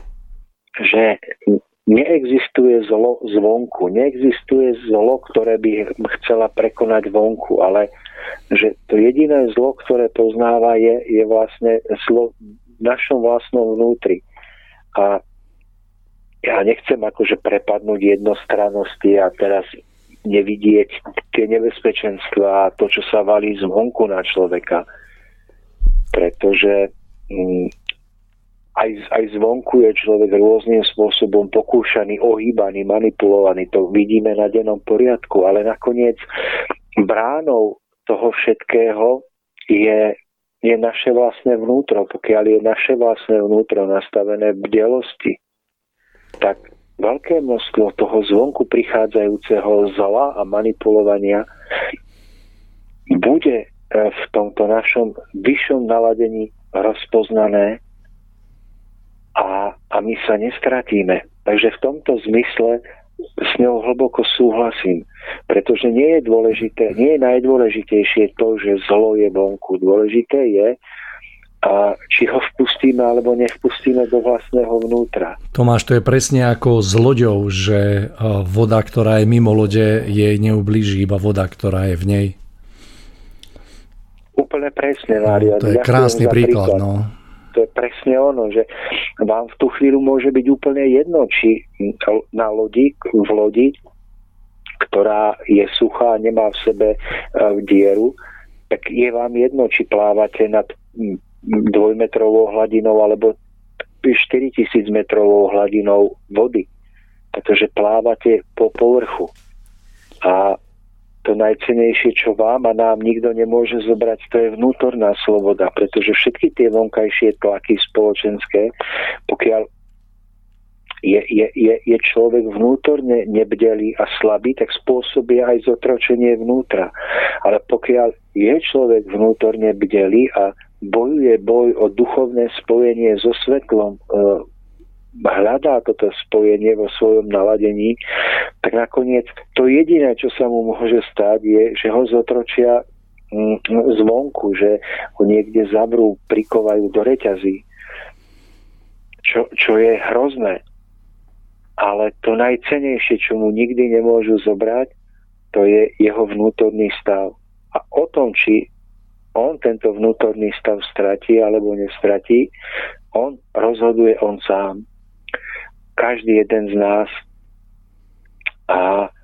neexistuje zlo zvonku, neexistuje zlo, ktoré by chcela prekonať vonku, ale že to jediné zlo, ktoré poznáva, je vlastne zlo v našom vlastnom vnútri. A ja nechcem akože prepadnúť jednostrannosti a teraz nevidieť tie nebezpečenstvá a to, čo sa valí zvonku na človeka. Pretože aj zvonku je človek rôznym spôsobom pokúšaný, ohýbaný, manipulovaný. To vidíme na dennom poriadku, ale nakoniec bránou toho všetkého je naše vlastné vnútro. Pokiaľ je naše vlastné vnútro nastavené v bdelosti, tak veľké množstvo toho zvonku prichádzajúceho zla a manipulovania bude v tomto našom vyššom naladení rozpoznané a my sa nestratíme. Takže v tomto zmysle s ňou hlboko súhlasím, pretože nie je najdôležitejšie to, že zlo je vonku. Dôležité je, či ho vpustíme alebo nevpustíme do vlastného vnútra. Tomáš, to je presne ako s loďou, že voda, ktorá je mimo lode, jej neublíži, iba voda, ktorá je v nej. Úplne presne, Mário. To je krásny príklad. No. To je presne ono, že vám v tú chvíľu môže byť úplne jedno, či v lodi, ktorá je suchá a nemá v sebe dieru, tak je vám jedno, či plávate nad 2-metrovou hladinou alebo 4000 metrovou hladinou vody, pretože plávate po povrchu. A to najcennejšie, čo vám a nám nikto nemôže zobrať, to je vnútorná sloboda, pretože všetky tie vonkajšie tlaky spoločenské, pokiaľ je človek vnútorne nebdelý a slabý, tak spôsobí aj zotročenie vnútra. Ale pokiaľ je človek vnútorne bdelý a bojuje boj o duchovné spojenie so svetlom, hľadá toto spojenie vo svojom naladení, tak nakoniec to jediné, čo sa mu môže stať, je, že ho zotročia zvonku, že ho niekde zavrú, prikovajú do reťazí. Čo je hrozné. Ale to najcennejšie, čo mu nikdy nemôžu zobrať, to je jeho vnútorný stav. A o tom, či on tento vnútorný stav stratí alebo nestratí, on rozhoduje on sám. Každý jeden z nás. A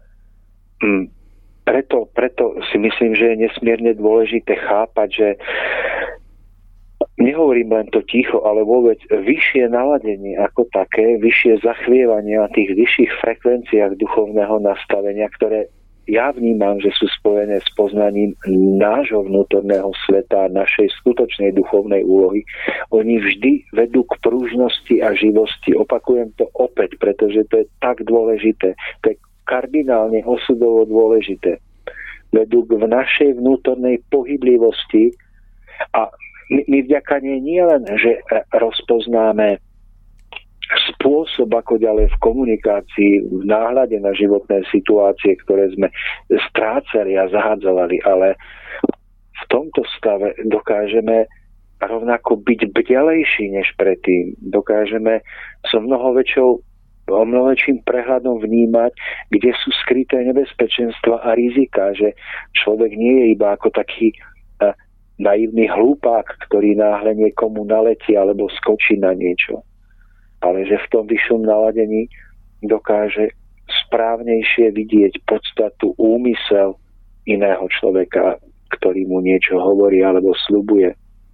preto si myslím, že je nesmierne dôležité chápať, že nehovorím len to ticho, ale vôbec vyššie naladenie ako také, vyššie zachvievanie na tých vyšších frekvenciách duchovného nastavenia, ktoré ja vnímam, že sú spojené s poznaním nášho vnútorného sveta a našej skutočnej duchovnej úlohy. Oni vždy vedú k pružnosti a živosti. Opakujem to opäť, pretože to je tak dôležité. To je kardinálne osudovo dôležité. Vedú k našej vnútornej pohyblivosti a my vďaka nej nie len, že rozpoznáme spôsob, ako ďalej v komunikácii, v náhľade na životné situácie, ktoré sme strácali a zahádzali, ale v tomto stave dokážeme rovnako byť bdelejší než predtým. Dokážeme so mnoho väčším prehľadom vnímať, kde sú skryté nebezpečenstva a rizika, že človek nie je iba ako taký naivný hlúpák, ktorý náhle niekomu naletí alebo skočí na niečo. Ale že v tom vyššom naladení dokáže správnejšie vidieť podstatu, úmysel iného človeka, ktorý mu niečo hovorí alebo sľubuje.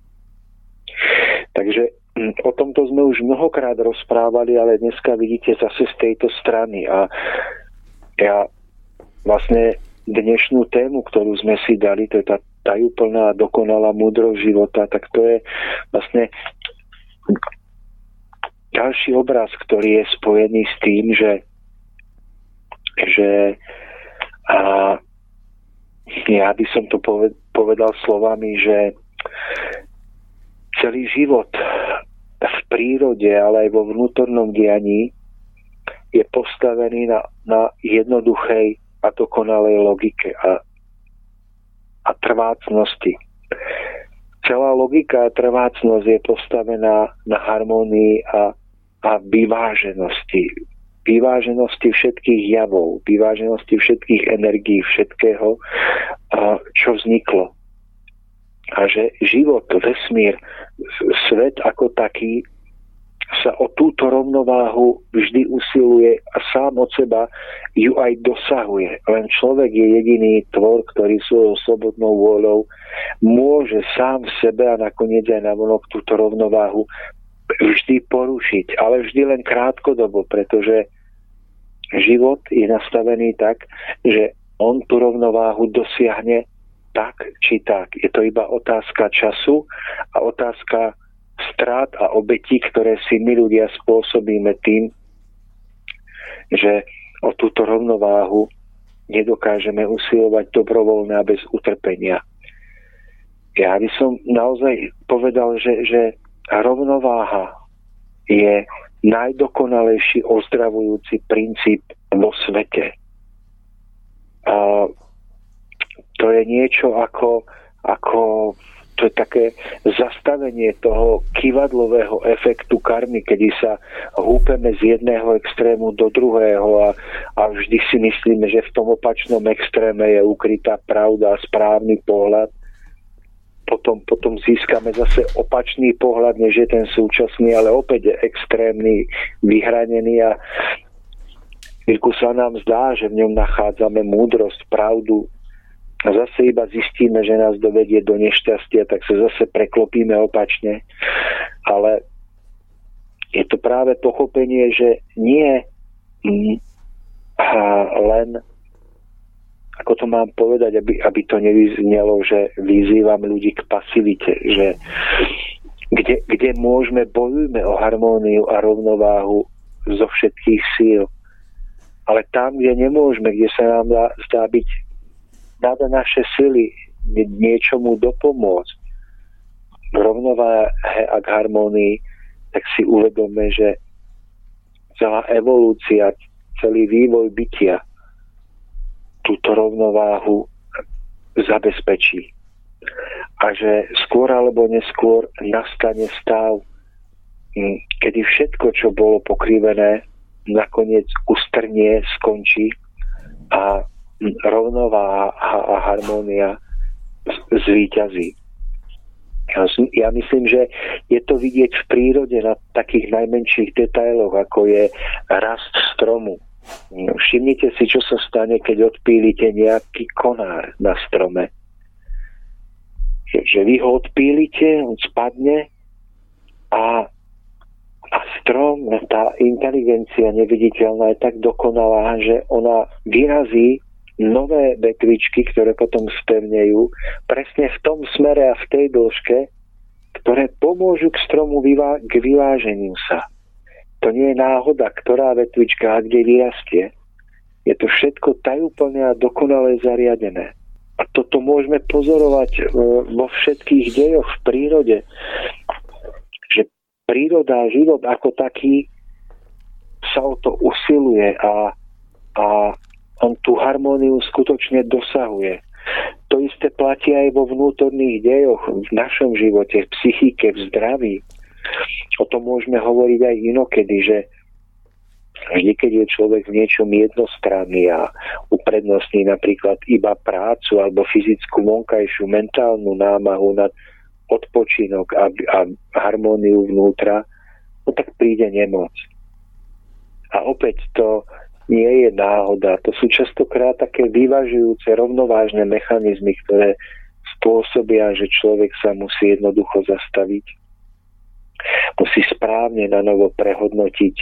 Takže o tomto sme už mnohokrát rozprávali, ale dneska vidíte zase z tejto strany. A ja vlastne dnešnú tému, ktorú sme si dali, to je tá tajúplná a dokonalá múdrosť života, tak to je vlastne ďalší obraz, ktorý je spojený s tým, že ja by som to povedal slovami, že celý život v prírode, ale aj vo vnútornom dianí je postavený na jednoduchej a dokonalej logike a trvácnosti. Celá logika a trvácnosť je postavená na harmónii a vyváženosti. Vyváženosti všetkých javov, vyváženosti všetkých energií, všetkého, čo vzniklo. A že život, vesmír, svet ako taký sa o túto rovnováhu vždy usiluje a sám od seba ju aj dosahuje. Len človek je jediný tvor, ktorý svojou slobodnou vôľou môže sám v sebe a nakoniec aj navonok túto rovnováhu vždy porušiť, ale vždy len krátkodobo, pretože život je nastavený tak, že on tú rovnováhu dosiahne tak či tak. Je to iba otázka času a otázka strát a obetí, ktoré si my ľudia spôsobíme tým, že o túto rovnováhu nedokážeme usilovať dobrovoľne a bez utrpenia. Ja by som naozaj povedal, že rovnováha je najdokonalejší ozdravujúci princíp vo svete. A to je niečo ako to je také zastavenie toho kyvadlového efektu karmy, kedy sa húpeme z jedného extrému do druhého a vždy si myslíme, že v tom opačnom extréme je ukrytá pravda a správny pohľad. Potom získame zase opačný pohľad, než je ten súčasný, ale opäť je extrémny, vyhranený a chvíľku sa nám zdá, že v ňom nachádzame múdrosť, pravdu a zase iba zistíme, že nás dovedie do nešťastia, tak sa zase preklopíme opačne. Ale je to práve pochopenie, že nie len, ako to mám povedať, aby to nevyznelo, že vyzývam ľudí k pasivite, že kde môžeme, bojujme o harmóniu a rovnováhu zo všetkých síl. Ale tam, kde nemôžeme, kde sa nám zdá byť nad naše sily niečomu dopomôcť v rovnováhe a k harmónii, tak si uvedome, že celá evolúcia, celý vývoj bytia túto rovnováhu zabezpečí. A že skôr alebo neskôr nastane stav, kedy všetko, čo bolo pokrivené, nakoniec ustrnie, skončí a rovnováha a harmónia zvíťazí. Ja myslím, že je to vidieť v prírode na takých najmenších detailoch, ako je rast stromu. Všimnite si, čo sa stane, keď odpílite nejaký konár na strome. Že vy ho odpílite, on spadne A strom, tá inteligencia neviditeľná je tak dokonalá, že ona vyrazí nové vetvičky, ktoré potom spevnejú presne v tom smere a v tej dĺžke, ktoré pomôžu k stromu k vyváženiu sa. To nie je náhoda, ktorá vetvička a kde vyrastie. Je to všetko tajúplne a dokonale zariadené. A toto môžeme pozorovať vo všetkých dejoch v prírode, že príroda a život ako taký sa o to usiluje a on tú harmóniu skutočne dosahuje. To isté platí aj vo vnútorných dejoch, v našom živote, v psychike, v zdraví. O tom môžeme hovoriť aj inokedy, že vždy, keď je človek v niečom jednostranný a uprednostní napríklad iba prácu alebo fyzickú vonkajšiu mentálnu námahu na odpočinok a harmóniu vnútra, no tak príde nemoc. A opäť to nie je náhoda. To sú častokrát také vyvažujúce, rovnovážne mechanizmy, ktoré spôsobia, že človek sa musí jednoducho zastaviť. Musí správne na novo prehodnotiť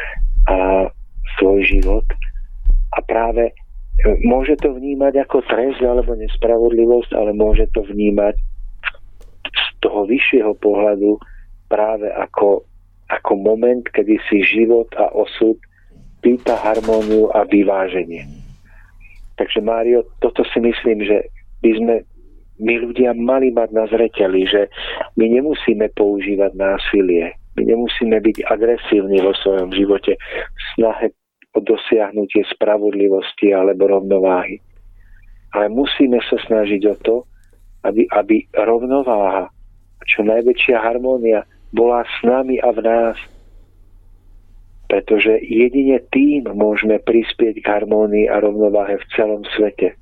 svoj život. A práve môže to vnímať ako trest alebo nespravodlivosť, ale môže to vnímať z toho vyššieho pohľadu práve ako moment, kedy si život a osud pýta harmóniu a vyváženie. Takže Mário, toto si myslím, že by sme my ľudia mali mať na zreteli, že my nemusíme používať násilie, my nemusíme byť agresívni vo svojom živote v snahe o dosiahnutie spravodlivosti alebo rovnováhy. Ale musíme sa snažiť o to, aby rovnováha, čo najväčšia harmónia bola s nami a v nás. Pretože jedine tým môžeme prispieť k harmónii a rovnováhe v celom svete.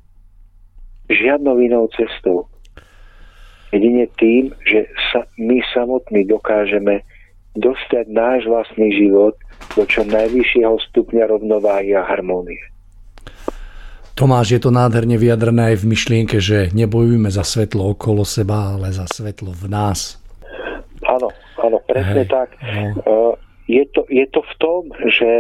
Žiadnou inou cestou. Jedine tým, že my samotní dokážeme dostať náš vlastný život do čo najvyššieho stupňa rovnováhy a harmónie. Tomáš, je to nádherne vyjadrené aj v myšlienke, že nebojujeme za svetlo okolo seba, ale za svetlo v nás. Áno, presne tak. No. Je to v tom, že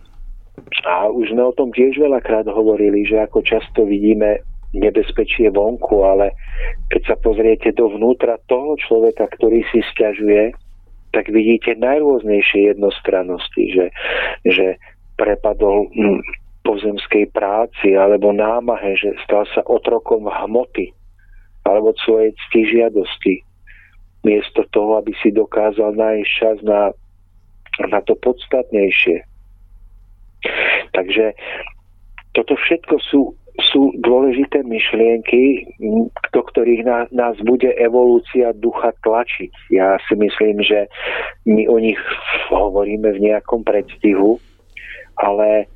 a už sme o tom tiež veľakrát hovorili, že ako často vidíme nebezpečie vonku, ale keď sa pozriete dovnútra toho človeka, ktorý si sťažuje, tak vidíte najrôznejšie jednostrannosti, že prepadol pozemskej práci alebo námahe, že stal sa otrokom hmoty alebo svojej ctižiadosti. Miesto toho, aby si dokázal nájsť čas na to podstatnejšie. Takže toto všetko sú dôležité myšlienky, do ktorých nás bude evolúcia ducha tlačiť. Ja si myslím, že my o nich hovoríme v nejakom predstihu, ale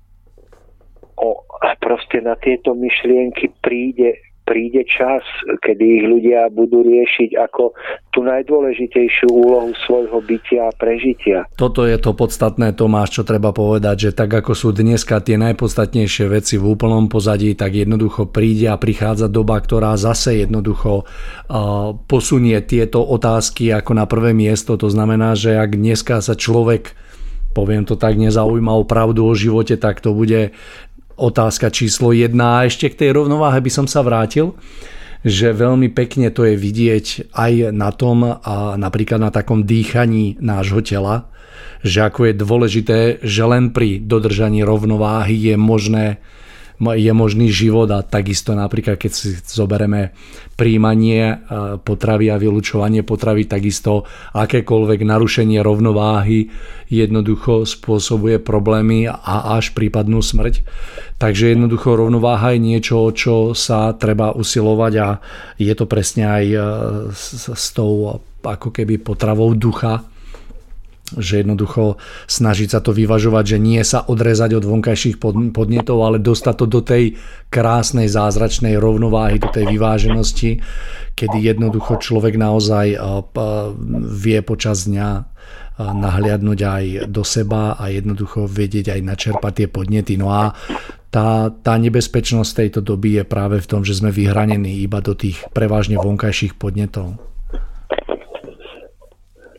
proste na tieto myšlienky príde čas, kedy ich ľudia budú riešiť ako tú najdôležitejšiu úlohu svojho bytia a prežitia. Toto je to podstatné, Tomáš, čo treba povedať, že tak ako sú dneska tie najpodstatnejšie veci v úplnom pozadí, tak jednoducho príde a prichádza doba, ktorá zase jednoducho posunie tieto otázky ako na prvé miesto. To znamená, že ak dneska sa človek, poviem to tak, nezaujíma o pravdu o živote, tak to bude otázka číslo 1. A ešte k tej rovnováhe by som sa vrátil, že veľmi pekne to je vidieť aj na tom a napríklad na takom dýchaní nášho tela, že ako je dôležité, že len pri dodržaní rovnováhy je možný život a takisto napríklad keď si zoberieme príjmanie potravy a vylučovanie potravy, takisto akékoľvek narušenie rovnováhy jednoducho spôsobuje problémy a až prípadnú smrť. Takže jednoducho rovnováha je niečo, čo sa treba usilovať a je to presne aj s tou ako keby potravou ducha, že jednoducho snažiť sa to vyvažovať, že nie sa odrezať od vonkajších podnetov, ale dostať to do tej krásnej zázračnej rovnováhy, do tej vyváženosti, kedy jednoducho človek naozaj vie počas dňa nahliadnúť aj do seba a jednoducho vedieť aj načerpať tie podnety. No a tá nebezpečnosť tejto doby je práve v tom, že sme vyhranení iba do tých prevažne vonkajších podnetov.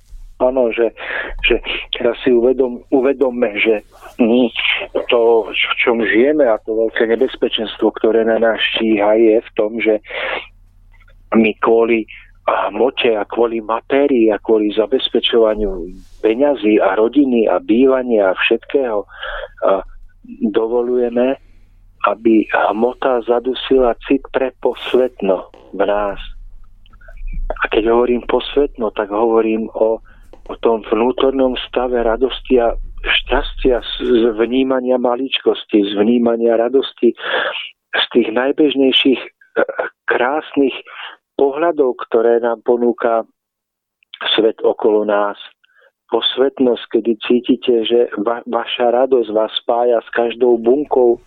áno, že teraz si uvedomme, že to, v čom žijeme a to veľké nebezpečenstvo, ktoré na nás číha, je v tom, že my kvôli hmote a kvôli matérii a kvôli zabezpečovaniu peňazí a rodiny a bývania a všetkého dovolujeme, aby hmota zadusila cit pre posvetno v nás. A keď hovorím posvetno, tak hovorím o tom vnútornom stave radosti a šťastia z vnímania maličkosti, z vnímania radosti, z tých najbežnejších krásnych pohľadov, ktoré nám ponúka svet okolo nás. Posvetnosť, kedy cítite, že vaša radosť vás spája s každou bunkou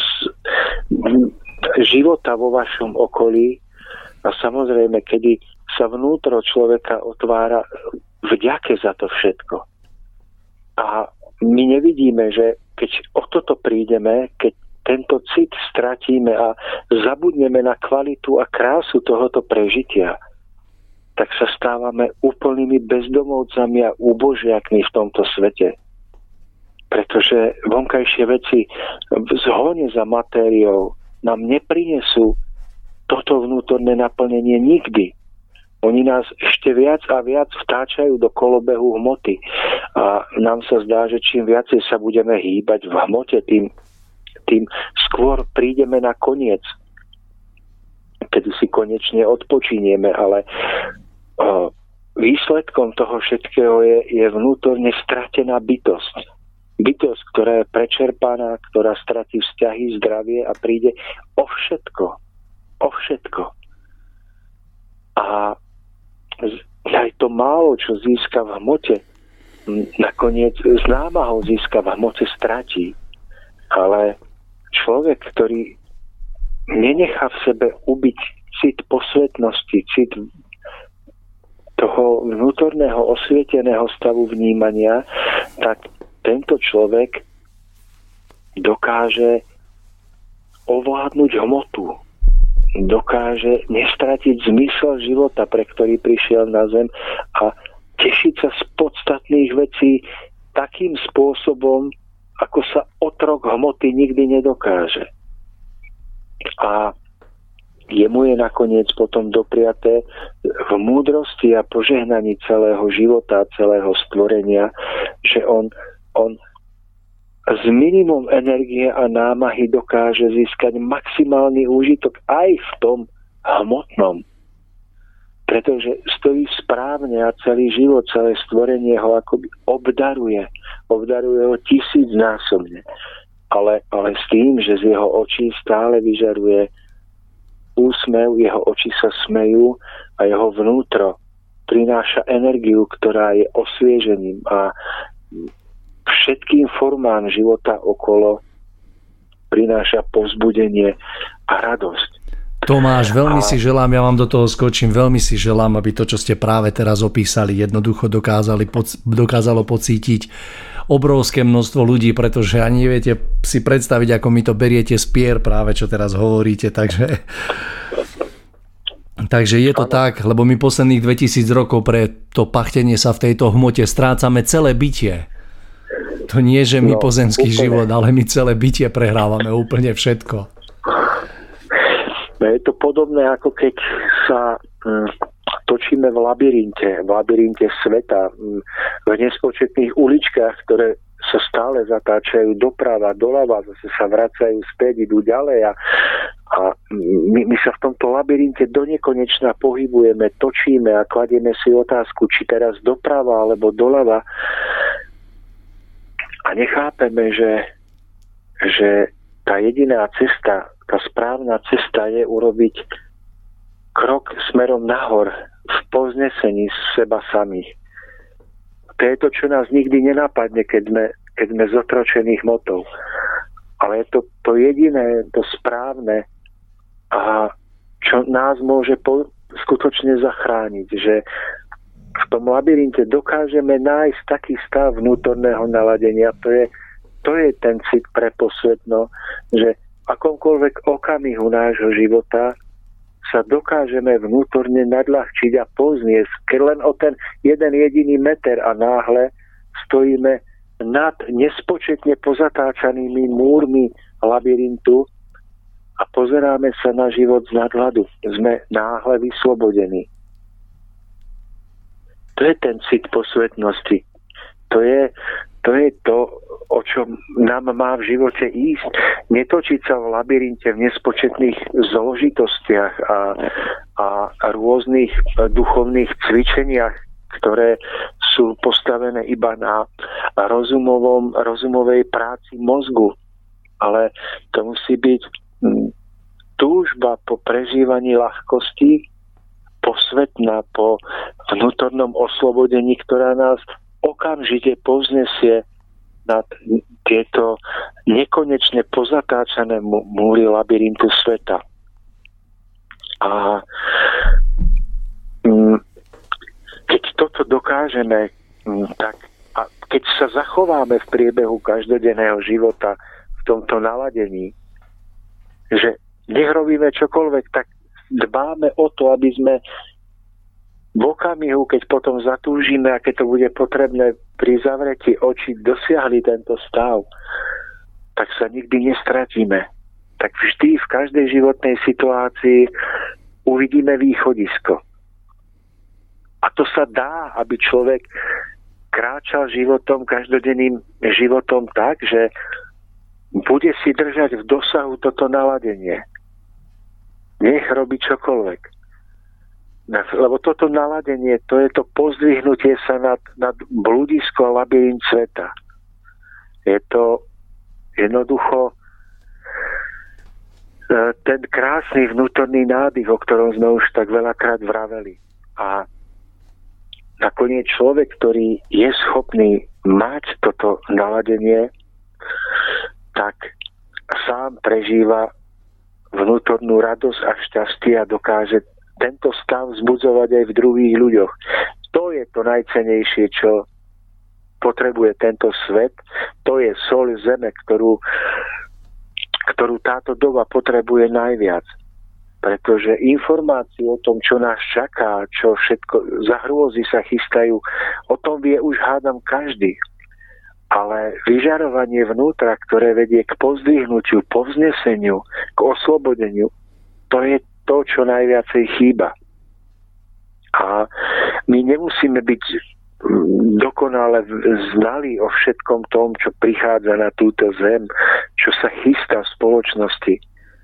života vo vašom okolí a samozrejme, kedy sa vnútro človeka otvára vďake za to všetko. A my nevidíme, že keď o toto prídeme, keď tento cit stratíme a zabudneme na kvalitu a krásu tohoto prežitia, tak sa stávame úplnými bezdomovcami a úbožiakmi v tomto svete. Pretože vonkajšie veci v zhone za matériou nám neprinesú toto vnútorné naplnenie nikdy. Oni nás ešte viac a viac vtáčajú do kolobehu hmoty. A nám sa zdá, že čím viacej sa budeme hýbať v hmote, tým skôr prídeme na koniec, kedy si konečne odpočinieme, ale výsledkom toho všetkého je vnútorne stratená bytosť. Bytosť, ktorá je prečerpaná, ktorá stratí vzťahy, zdravie a príde o všetko. O všetko. A aj to málo, čo získa v hmote, nakoniec s námahou získa v hmote, stratí. Ale človek, ktorý nenechá v sebe ubiť cit posvetnosti, cit toho vnútorného osvieteného stavu vnímania, tak tento človek dokáže ovládnuť hmotu. Dokáže nestratiť zmysel života, pre ktorý prišiel na zem a tešiť sa z podstatných vecí takým spôsobom, ako sa otrok hmoty nikdy nedokáže. A jemu je nakoniec potom dopriaté v múdrosti a požehnaní celého života, celého stvorenia, že on s minimum energie a námahy dokáže získať maximálny úžitok aj v tom hmotnom. Pretože stojí správne a celý život, celé stvorenie ho akoby obdaruje. Obdaruje ho 1000-násobne. Ale s tým, že z jeho očí stále vyžaruje úsmev, jeho oči sa smejú a jeho vnútro prináša energiu, ktorá je osviežením a všetkým formám života okolo prináša povzbudenie a radosť. Tomáš, veľmi si želám, ja vám do toho skočím, veľmi si želám, aby to, čo ste práve teraz opísali, jednoducho dokázalo pocítiť obrovské množstvo ľudí, pretože ani neviete si predstaviť, ako mi to beriete z pier práve, čo teraz hovoríte, takže je to tak, lebo my posledných 2000 rokov pre to pachtenie sa v tejto hmote strácame celé bytie. To nie, že my pozemský život, ale my celé bytie prehrávame úplne všetko. Je to podobné, ako keď sa točíme v labyrinte sveta, v nespočetných uličkách, ktoré sa stále zatáčajú doprava, doľava, zase sa vracajú späť, idú ďalej a my sa v tomto labyrinte donekonečna pohybujeme, točíme a kladieme si otázku, či teraz doprava alebo doľava a nechápeme, že tá jediná cesta, tá správna cesta je urobiť krok smerom nahor v povznesení z seba samých. To je to, čo nás nikdy nenapadne, keď sme zotročení hmotou. Ale je to jediné, to správne a čo nás môže skutočne zachrániť, že v tom labyrinte dokážeme nájsť taký stav vnútorného naladenia. To je ten cit pre posvetno, že v akomkoľvek okamihu nášho života sa dokážeme vnútorne nadľahčiť a pozniesť, keď len o ten jeden jediný meter a náhle stojíme nad nespočetne pozatáčanými múrmi labyrintu a pozeráme sa na život z nadhľadu. Sme náhle vyslobodení. To je ten cit posvetnosti. To je to, o čom nám má v živote ísť. Netočiť sa v labyrinte v nespočetných zložitostiach a rôznych duchovných cvičeniach, ktoré sú postavené iba na rozumovej práci mozgu. Ale to musí byť túžba po prežívaní ľahkosti, posvetná po vnútornom oslobodení, ktorá nás okamžite povznesie nad tieto nekonečne pozatáčané múry labyrintu sveta. A keď toto dokážeme, tak a keď sa zachováme v priebehu každodenného života v tomto naladení, že nech robíme čokoľvek, tak dbáme o to, aby sme v okamihu, keď potom zatúžime a keď to bude potrebné pri zavretí očí dosiahli tento stav, tak sa nikdy nestratíme. Tak vždy v každej životnej situácii uvidíme východisko. A to sa dá, aby človek kráčal životom, každodenným životom tak, že bude si držať v dosahu toto naladenie. Nech robí čokoľvek. Lebo toto naladenie, to je to pozdvihnutie sa nad blúdisko a labyrint sveta. Je to jednoducho ten krásny vnútorný nádych, o ktorom sme už tak veľakrát vraveli. A nakoniec človek, ktorý je schopný mať toto naladenie, tak sám prežíva vnútornú radosť a šťastie a dokáže tento stav vzbudzovať aj v druhých ľuďoch. To je to najcennejšie, čo potrebuje tento svet. To je soľ zeme, ktorú táto doba potrebuje najviac. Pretože informácie o tom, čo nás čaká, čo všetko za hrôzy sa chystajú, o tom vie už hádam každý. Ale vyžarovanie vnútra, ktoré vedie k pozdvihnutiu, povzneseniu, k oslobodeniu, to je to, čo najviacej chýba. A my nemusíme byť dokonale znali o všetkom tom, čo prichádza na túto zem, čo sa chystá v spoločnosti.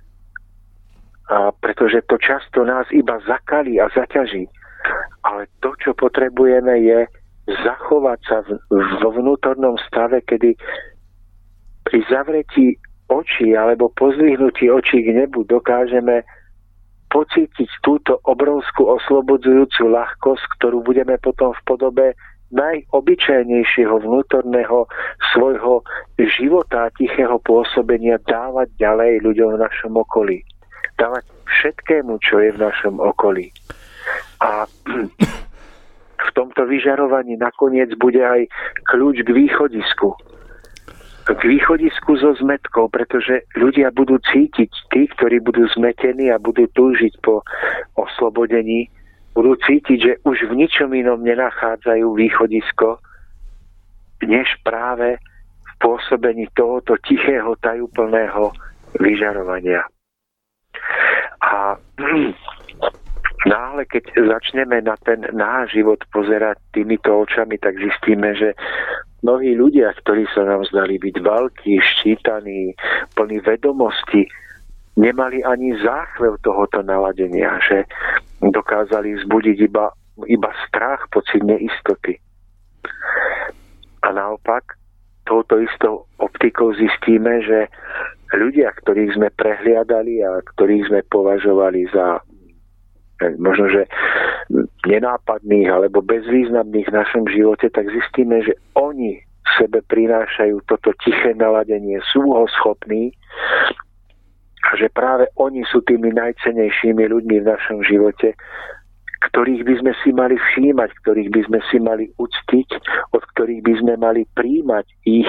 A pretože to často nás iba zakalí a zaťaží. Ale to, čo potrebujeme, je zachovať sa vo vnútornom stave, kedy pri zavretí očí alebo pozdvihnutí očí k nebu dokážeme pocítiť túto obrovskú oslobodzujúcu ľahkosť, ktorú budeme potom v podobe najobyčajnejšieho vnútorného svojho života a tichého pôsobenia dávať ďalej ľuďom v našom okolí. Dávať všetkému, čo je v našom okolí. A v tomto vyžarovaní nakoniec bude aj kľúč k východisku. K východisku so zmetkou, pretože ľudia budú cítiť, tí, ktorí budú zmetení a budú túžiť po oslobodení, budú cítiť, že už v ničom inom nenachádzajú východisko, než práve v pôsobení tohoto tichého, tajúplného vyžarovania. A náhle, keď začneme na ten náš život pozerať týmito očami, tak zistíme, že mnohí ľudia, ktorí sa nám zdali byť veľkí, ščítaní, plní vedomosti, nemali ani záchvev tohoto naladenia, že dokázali vzbudiť iba strach, pocit neistoty. A naopak, touto istou optikou zistíme, že ľudia, ktorých sme prehliadali a ktorých sme považovali za možno, že nenápadných alebo bezvýznamných v našom živote, tak zistíme, že oni v sebe prinášajú toto tiché naladenie, sú ho schopní a že práve oni sú tými najcennejšími ľuďmi v našom živote, ktorých by sme si mali všímať, ktorých by sme si mali uctiť, od ktorých by sme mali príjmať ich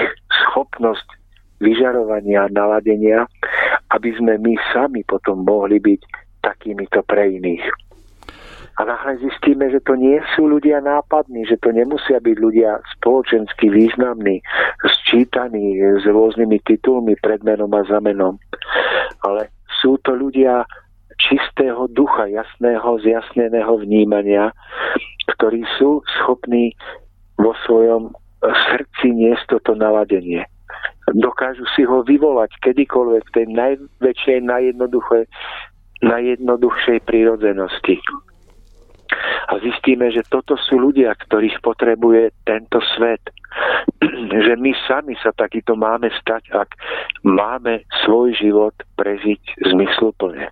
schopnosť vyžarovania a naladenia, aby sme my sami potom mohli byť takýmito pre iných. A náhle zistíme, že to nie sú ľudia nápadní, že to nemusia byť ľudia spoločensky významní, sčítaní s rôznymi titulmi pred menom a za menom. Ale sú to ľudia čistého ducha, jasného, zjasneného vnímania, ktorí sú schopní vo svojom srdci niesť toto naladenie. Dokážu si ho vyvolať kedykoľvek v tej najväčšej, najjednoduchšej prírodzenosti. A zistíme, že toto sú ľudia, ktorých potrebuje tento svet. Že my sami sa takýto máme stať, ak máme svoj život prežiť zmysluplne.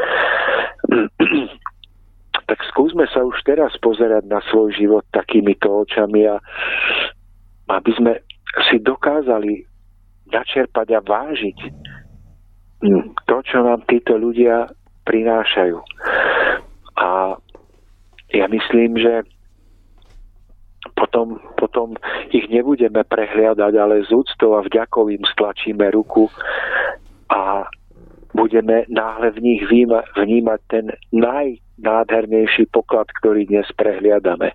Tak skúsme sa už teraz pozerať na svoj život takýmito očami a aby sme si dokázali načerpať a vážiť to, čo nám títo ľudia prinášajú. A ja myslím, že potom ich nebudeme prehliadať, ale z úctou a vďakou im stlačíme ruku a budeme náhle v nich vnímať ten najnádhernejší poklad, ktorý dnes prehliadame.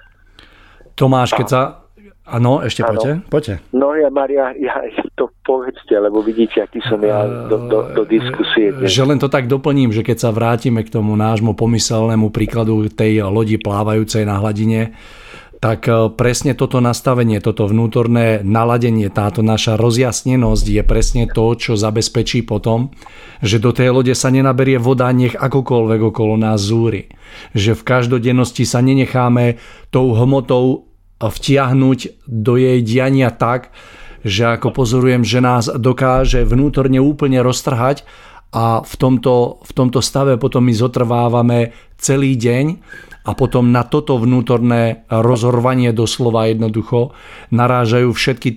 Tomáš, keď sa... Áno, ešte poďte. No Maria, to povedzte, lebo vidíte, aký som ja do diskusie dnes. Že len to tak doplním, že keď sa vrátime k tomu nášmu pomyselnému príkladu tej lodi plávajúcej na hladine, tak presne toto nastavenie, toto vnútorné naladenie, táto naša rozjasnenosť je presne to, čo zabezpečí potom, že do tej lode sa nenaberie voda, nech akokoľvek okolo nás zúri. Že v každodennosti sa nenecháme tou hmotou vtiahnuť do jej diania tak, že ako pozorujem, že nás dokáže vnútorne úplne roztrhať a v tomto stave potom my zotrvávame celý deň a potom na toto vnútorné rozhorvanie doslova jednoducho narážajú všetky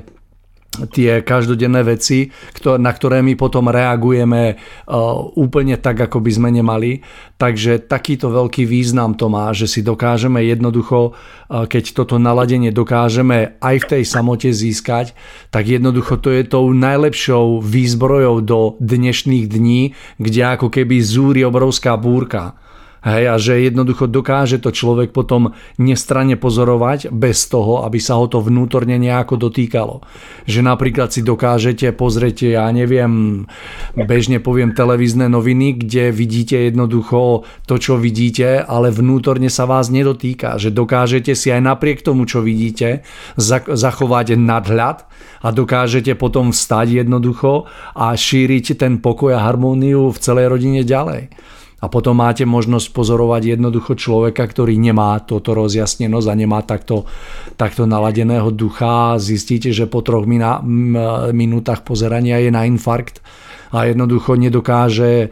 tie každodenné veci, na ktoré my potom reagujeme úplne tak, ako by sme nemali. Takže takýto veľký význam to má, že si dokážeme jednoducho, keď toto naladenie dokážeme aj v tej samote získať, tak jednoducho to je tou najlepšou výzbrojou do dnešných dní, kde ako keby zúri obrovská búrka. Hej, a že jednoducho dokáže to človek potom nestranne pozorovať bez toho, aby sa ho to vnútorne nejako dotýkalo. Že napríklad si dokážete pozrieť, ja neviem, bežne poviem televízne noviny, kde vidíte jednoducho to, čo vidíte, ale vnútorne sa vás nedotýka. Že dokážete si aj napriek tomu, čo vidíte, zachovať nadhľad a dokážete potom vstať jednoducho a šíriť ten pokoj a harmóniu v celej rodine ďalej. A potom máte možnosť pozorovať jednoducho človeka, ktorý nemá toto rozjasnenosť a nemá takto naladeného ducha. Zistíte, že po 3 minútach pozerania je na infarkt a jednoducho nedokáže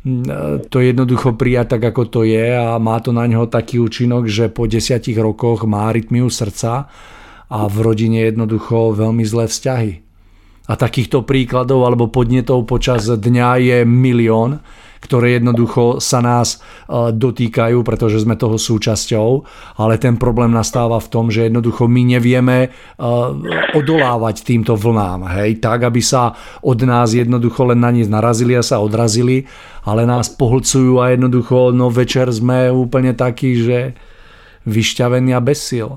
to jednoducho prijať tak, ako to je a má to na ňo taký účinok, že po 10 rokoch má arytmiu srdca a v rodine jednoducho veľmi zlé vzťahy. A takýchto príkladov alebo podnetov počas dňa je milión, ktoré jednoducho sa nás dotýkajú, pretože sme toho súčasťou, ale ten problém nastáva v tom, že jednoducho my nevieme odolávať týmto vlnám, hej, tak, aby sa od nás jednoducho len na nich narazili a sa odrazili, ale nás pohlcujú a jednoducho večer sme úplne takí, že vyšťavení a bez síl.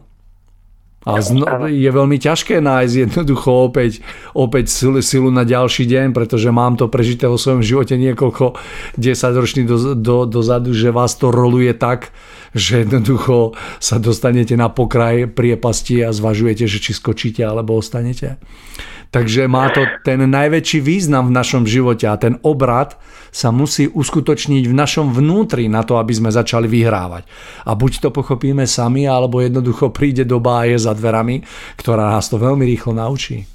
A je veľmi ťažké nájsť jednoducho opäť silu na ďalší deň, pretože mám to prežité vo svojom živote niekoľko 10-ročných dozadu, že vás to roluje tak, že jednoducho sa dostanete na pokraj priepasti a zvažujete, že či skočíte alebo ostanete. Takže má to ten najväčší význam v našom živote a ten obrat sa musí uskutočniť v našom vnútri na to, aby sme začali vyhrávať. A buď to pochopíme sami, alebo jednoducho príde doba a je za dverami, ktorá nás to veľmi rýchlo naučí.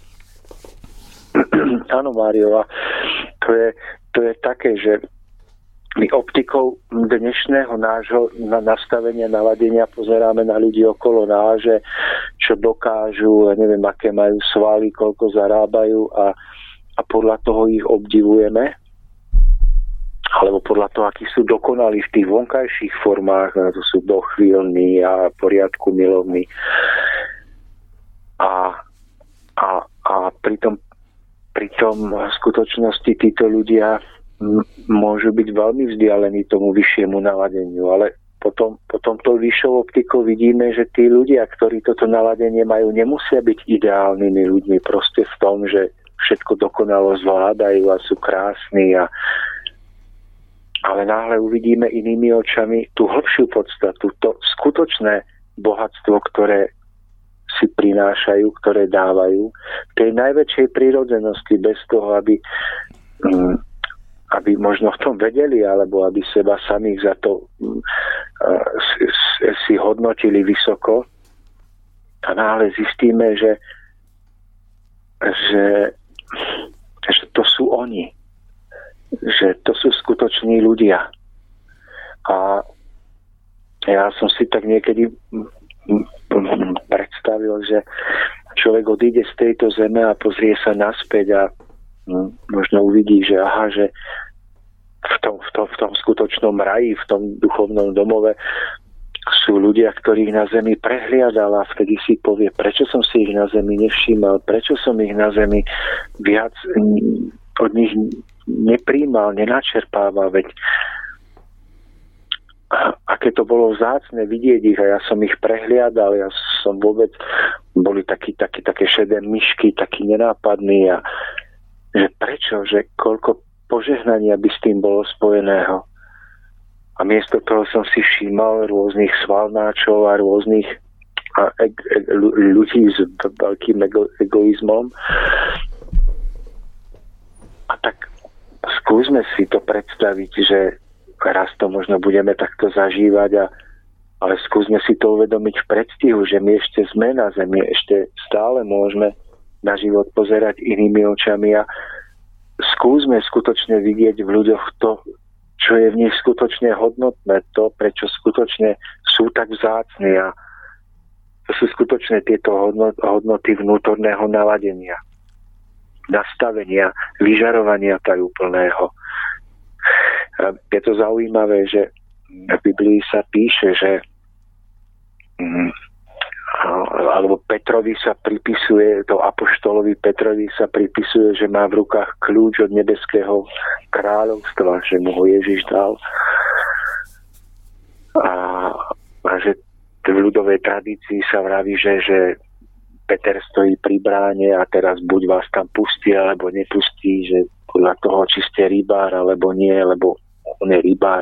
Áno, Mário, a to je také, že my optikou dnešného nášho nastavenia, naladenia pozeráme na ľudí okolo nás, že čo dokážu, neviem, aké majú svaly, koľko zarábajú a podľa toho ich obdivujeme. Alebo podľa toho, akí sú dokonalí v tých vonkajších formách, to sú dochvíľní a poriadku milovní. A pritom v skutočnosti títo ľudia môžu byť veľmi vzdialení tomu vyššiemu naladeniu, ale potom tou vyššou optikou vidíme, že tí ľudia, ktorí toto naladenie majú, nemusia byť ideálnymi ľuďmi proste v tom, že všetko dokonalo zvládajú a sú krásni, ale náhle uvidíme inými očami tú hlbšiu podstatu, to skutočné bohatstvo, ktoré si prinášajú, ktoré dávajú, tej najväčšej prírodzenosti, bez toho, aby možno v tom vedeli, alebo aby seba samých za to si hodnotili vysoko. A náhle zistíme, že to sú oni. Že to sú skutoční ľudia. A ja som si tak niekedy predstavil, že človek odíde z tejto zeme a pozrie sa naspäť a možno uvidí, že že v tom skutočnom raji, v tom duchovnom domove sú ľudia, ktorých na zemi prehliadal, a vtedy si povie, prečo som si ich na zemi nevšímal, prečo som ich na zemi viac od nich nepríjmal, nenačerpával, veď aké to bolo vzácne vidieť ich, a ja som ich prehliadal, ja som vôbec, boli také šedé myšky, takí nenápadní, a že prečo, že koľko požehnania by s tým bolo spojeného. A miesto toho som si všímal rôznych svalnáčov a rôznych ľudí s veľkým egoizmom. A tak skúsme si to predstaviť, že raz to možno budeme takto zažívať, ale skúsme si to uvedomiť v predstihu, že my ešte sme na zemi, ešte stále môžeme na život pozerať inými očami, a skúsme skutočne vidieť v ľuďoch to, čo je v nich skutočne hodnotné, to, prečo skutočne sú tak vzácni, a to sú skutočne tieto hodnoty vnútorného naladenia, nastavenia, vyžarovania tajúplného. Je to zaujímavé, že v Biblii sa píše, že alebo Petrovi sa pripisuje, to apoštolovi Petrovi sa pripisuje, že má v rukách kľúč od nebeského kráľovstva, že mu ho Ježiš dal. A že v ľudovej tradícii sa vraví, že Peter stojí pri bráne a teraz buď vás tam pustí, alebo nepustí, že podľa toho, či ste rybár, alebo nie, lebo on je rybár.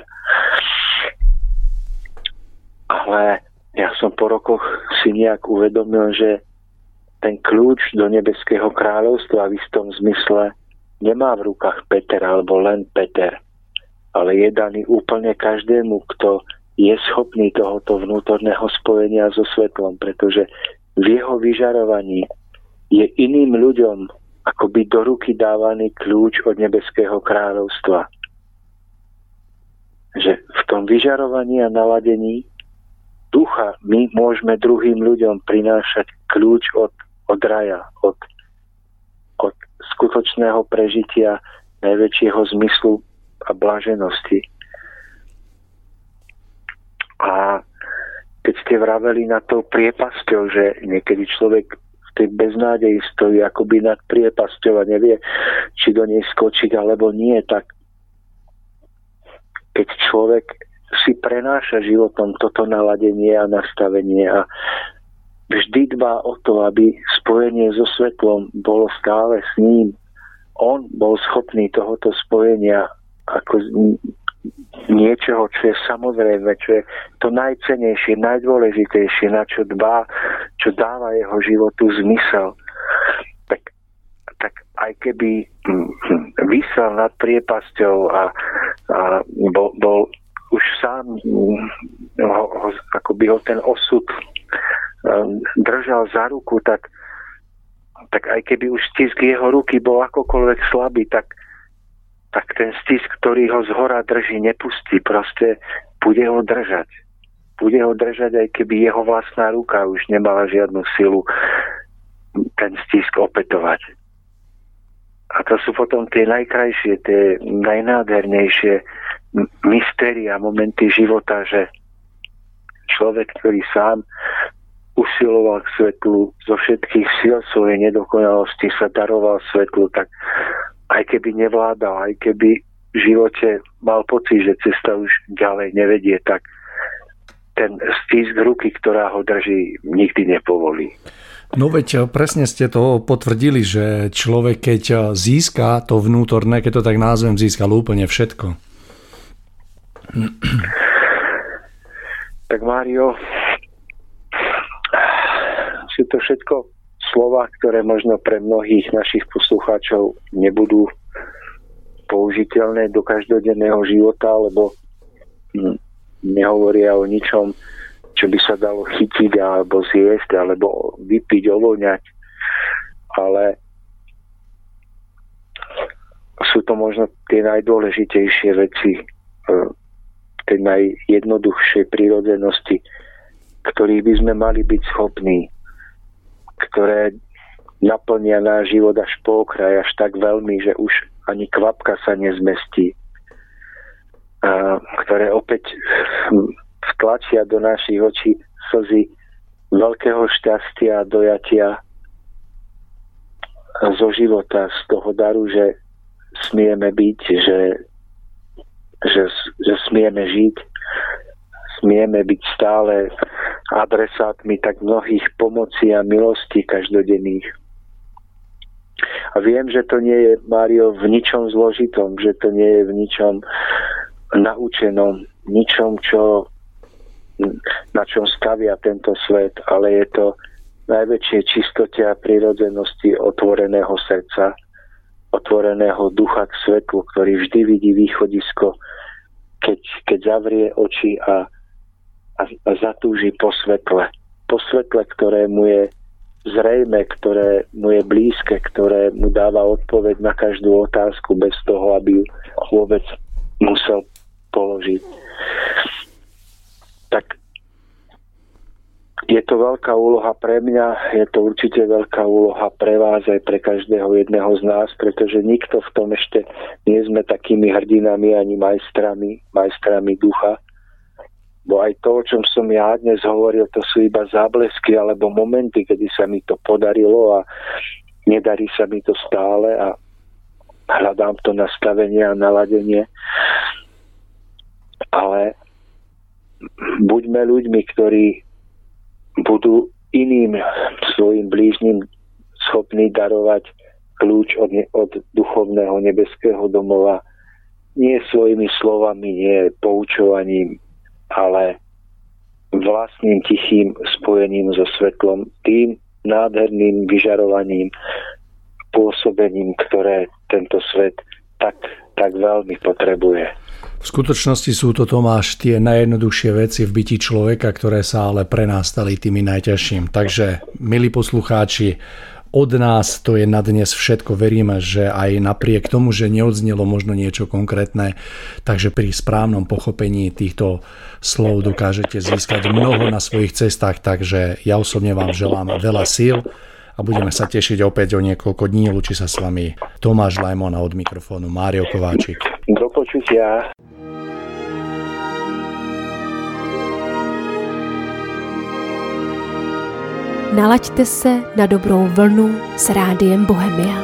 Ale ja som po rokoch si nejak uvedomil, že ten kľúč do nebeského kráľovstva v istom zmysle nemá v rukách Peter alebo len Peter, ale je daný úplne každému, kto je schopný tohoto vnútorného spojenia so svetlom, pretože v jeho vyžarovaní je iným ľuďom akoby do ruky dávaný kľúč od nebeského kráľovstva. Že v tom vyžarovaní a naladení ducha my môžeme druhým ľuďom prinášať kľúč od raja, od skutočného prežitia najväčšieho zmyslu a blaženosti. A keď ste vraveli na tou priepasťou, že niekedy človek v tej beznádeji stojí akoby nad priepasťou a nevie, či do nej skočiť alebo nie, tak keď človek si prenáša životom toto naladenie a nastavenie a vždy dbá o to, aby spojenie so svetlom bolo stále s ním. On bol schopný tohoto spojenia ako niečoho, čo je samozrejme, čo je to najcennejšie, najdôležitejšie, na čo dbá, čo dáva jeho životu zmysel. Tak aj keby visel nad priepasťou a bol už sám akoby ho ten osud držal za ruku, tak aj keby už stisk jeho ruky bol akokoľvek slabý, tak ten stisk, ktorý ho zhora drží, nepustí. Proste bude ho držať. Bude ho držať, aj keby jeho vlastná ruka už nemala žiadnu silu ten stisk opätovať. A to sú potom tie najkrajšie, tie najnádhernejšie mystéria, momenty života, že človek, ktorý sám usiloval k svetlu, zo všetkých síl svojej nedokonalosti sa daroval svetlu, tak aj keby nevládal, aj keby živote mal pocit, že cesta už ďalej nevedie, tak ten stisk ruky, ktorá ho drží, nikdy nepovolí. No veď presne ste to potvrdili, že človek, keď získa to vnútorné, keď to tak názvem, získal úplne všetko. Tak Mário, sú to všetko slova, ktoré možno pre mnohých našich poslucháčov nebudú použiteľné do každodenného života, lebo nehovoria o ničom, čo by sa dalo chytiť alebo zjesť, alebo vypiť, ovoňať. Ale sú to možno tie najdôležitejšie veci, tej najjednoduchšej prírodzenosti, ktorých by sme mali byť schopní, ktoré naplnia náš život až po okraj, až tak veľmi, že už ani kvapka sa nezmestí, ktoré opäť vtlačia do našich očí slzy veľkého šťastia a dojatia zo života, z toho daru, že smieme byť, že smieme žiť, smieme byť stále adresátmi tak mnohých pomocí a milostí každodenných. A viem, že to nie je, Mário, v ničom zložitom, že to nie je v ničom naučenom, ničom, na čom stavia tento svet, ale je to najväčšie čistote a prirodzenosti otvoreného srdca, otvoreného ducha k svetlu, ktorý vždy vidí východisko, keď zavrie oči a zatúži po svetle. Po svetle, ktoré mu je zrejme, ktoré mu je blízke, ktoré mu dáva odpoveď na každú otázku bez toho, aby ju vôbec musel položiť. Tak je to veľká úloha pre mňa, je to určite veľká úloha pre vás aj pre každého jedného z nás, pretože nikto v tom ešte nie sme takými hrdinami ani majstrami ducha. Bo aj to, o čom som ja dnes hovoril, to sú iba záblesky alebo momenty, kedy sa mi to podarilo a nedarí sa mi to stále a hľadám to nastavenie a naladenie. Ale buďme ľuďmi, ktorí budú iným svojim blížnym schopní darovať kľúč od duchovného nebeského domova. Nie svojimi slovami, nie poučovaním, ale vlastným tichým spojením so svetlom, tým nádherným vyžarovaním, pôsobením, ktoré tento svet tak veľmi potrebuje. V skutočnosti sú to, Tomáš, tie najjednoduchšie veci v byti človeka, ktoré sa ale pre nás stali tými najťažším. Takže, milí poslucháči, od nás to je na dnes všetko. Veríme, že aj napriek tomu, že neodznelo možno niečo konkrétne, takže pri správnom pochopení týchto slov dokážete získať mnoho na svojich cestách. Takže ja osobne vám želám veľa síl a budeme sa tešiť opäť o niekoľko dní. Lúči sa s vami Tomáš Lajmon a od mikrofónu Mário Kováčik. Do počutia. Nalaďte se na dobrou vlnu s Rádiem Bohemia.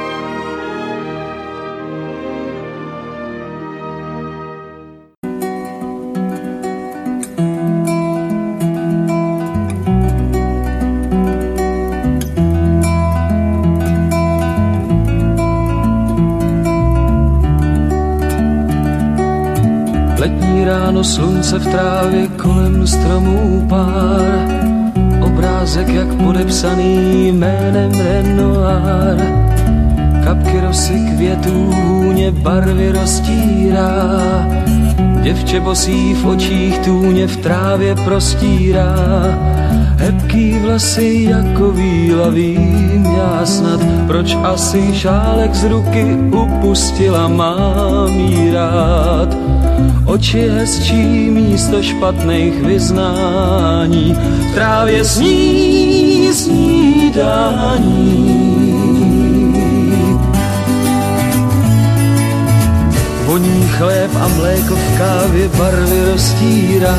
Letní ráno, slunce v trávě, kolem stromů pár, obrázek jak podepsaný jménem Renoir. Kapky rosy květů hůně barvy roztírá, děvče bosí v očích tůně v trávě prostírá. Hebký vlasy jako víla, vím já snad, proč asi šálek z ruky upustila, mám jí rád. Oči hezčí místo špatných vyznání, v trávě sní snídání. Voní chléb a mléko v kávě barvy roztírá,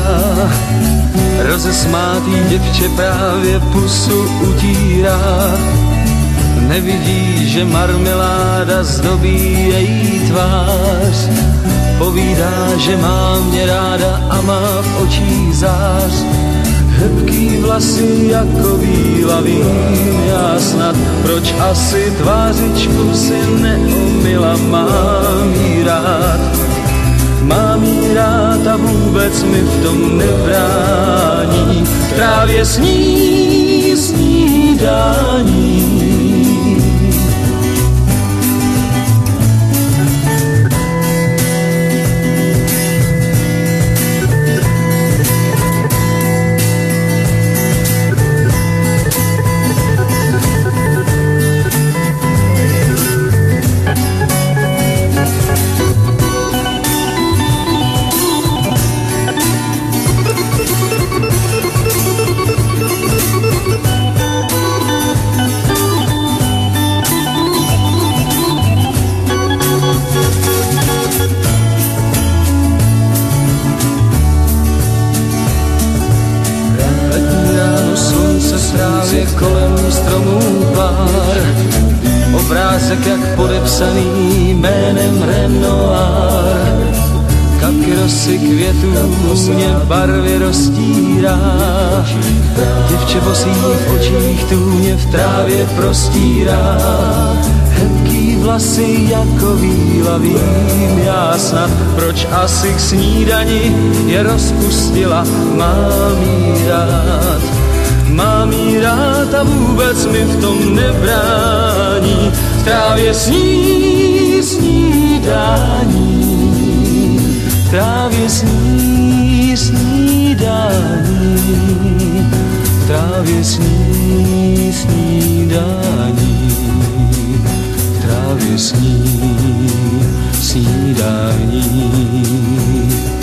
rozesmátý děvče právě pusu utírá. Nevidí, že marmeláda zdobí její tvář. Povídá, že má mě ráda a má v očích zář. Hebký vlasy jako víla, vím já snad, proč asi tvářičku si neomila. Mám jí rád, mám jí rád a vůbec mi v tom nebrání. V trávě sní snídání. Kolem stromů pár, obrázek jak podepsaný jménem Renoir. Kapky rosy květů mě barvy roztírá. Děvče bosý v očích tůně v trávě prostírá. Hebký vlasy jako víla, vím já snad, proč asi k snídani je rozpustila. Mám jí rád, mám jí rád a vůbec mi v tom nebrání. V trávě sní snídání, v trávě sní snídání, v trávě sní snídání, v trávě sní snídání.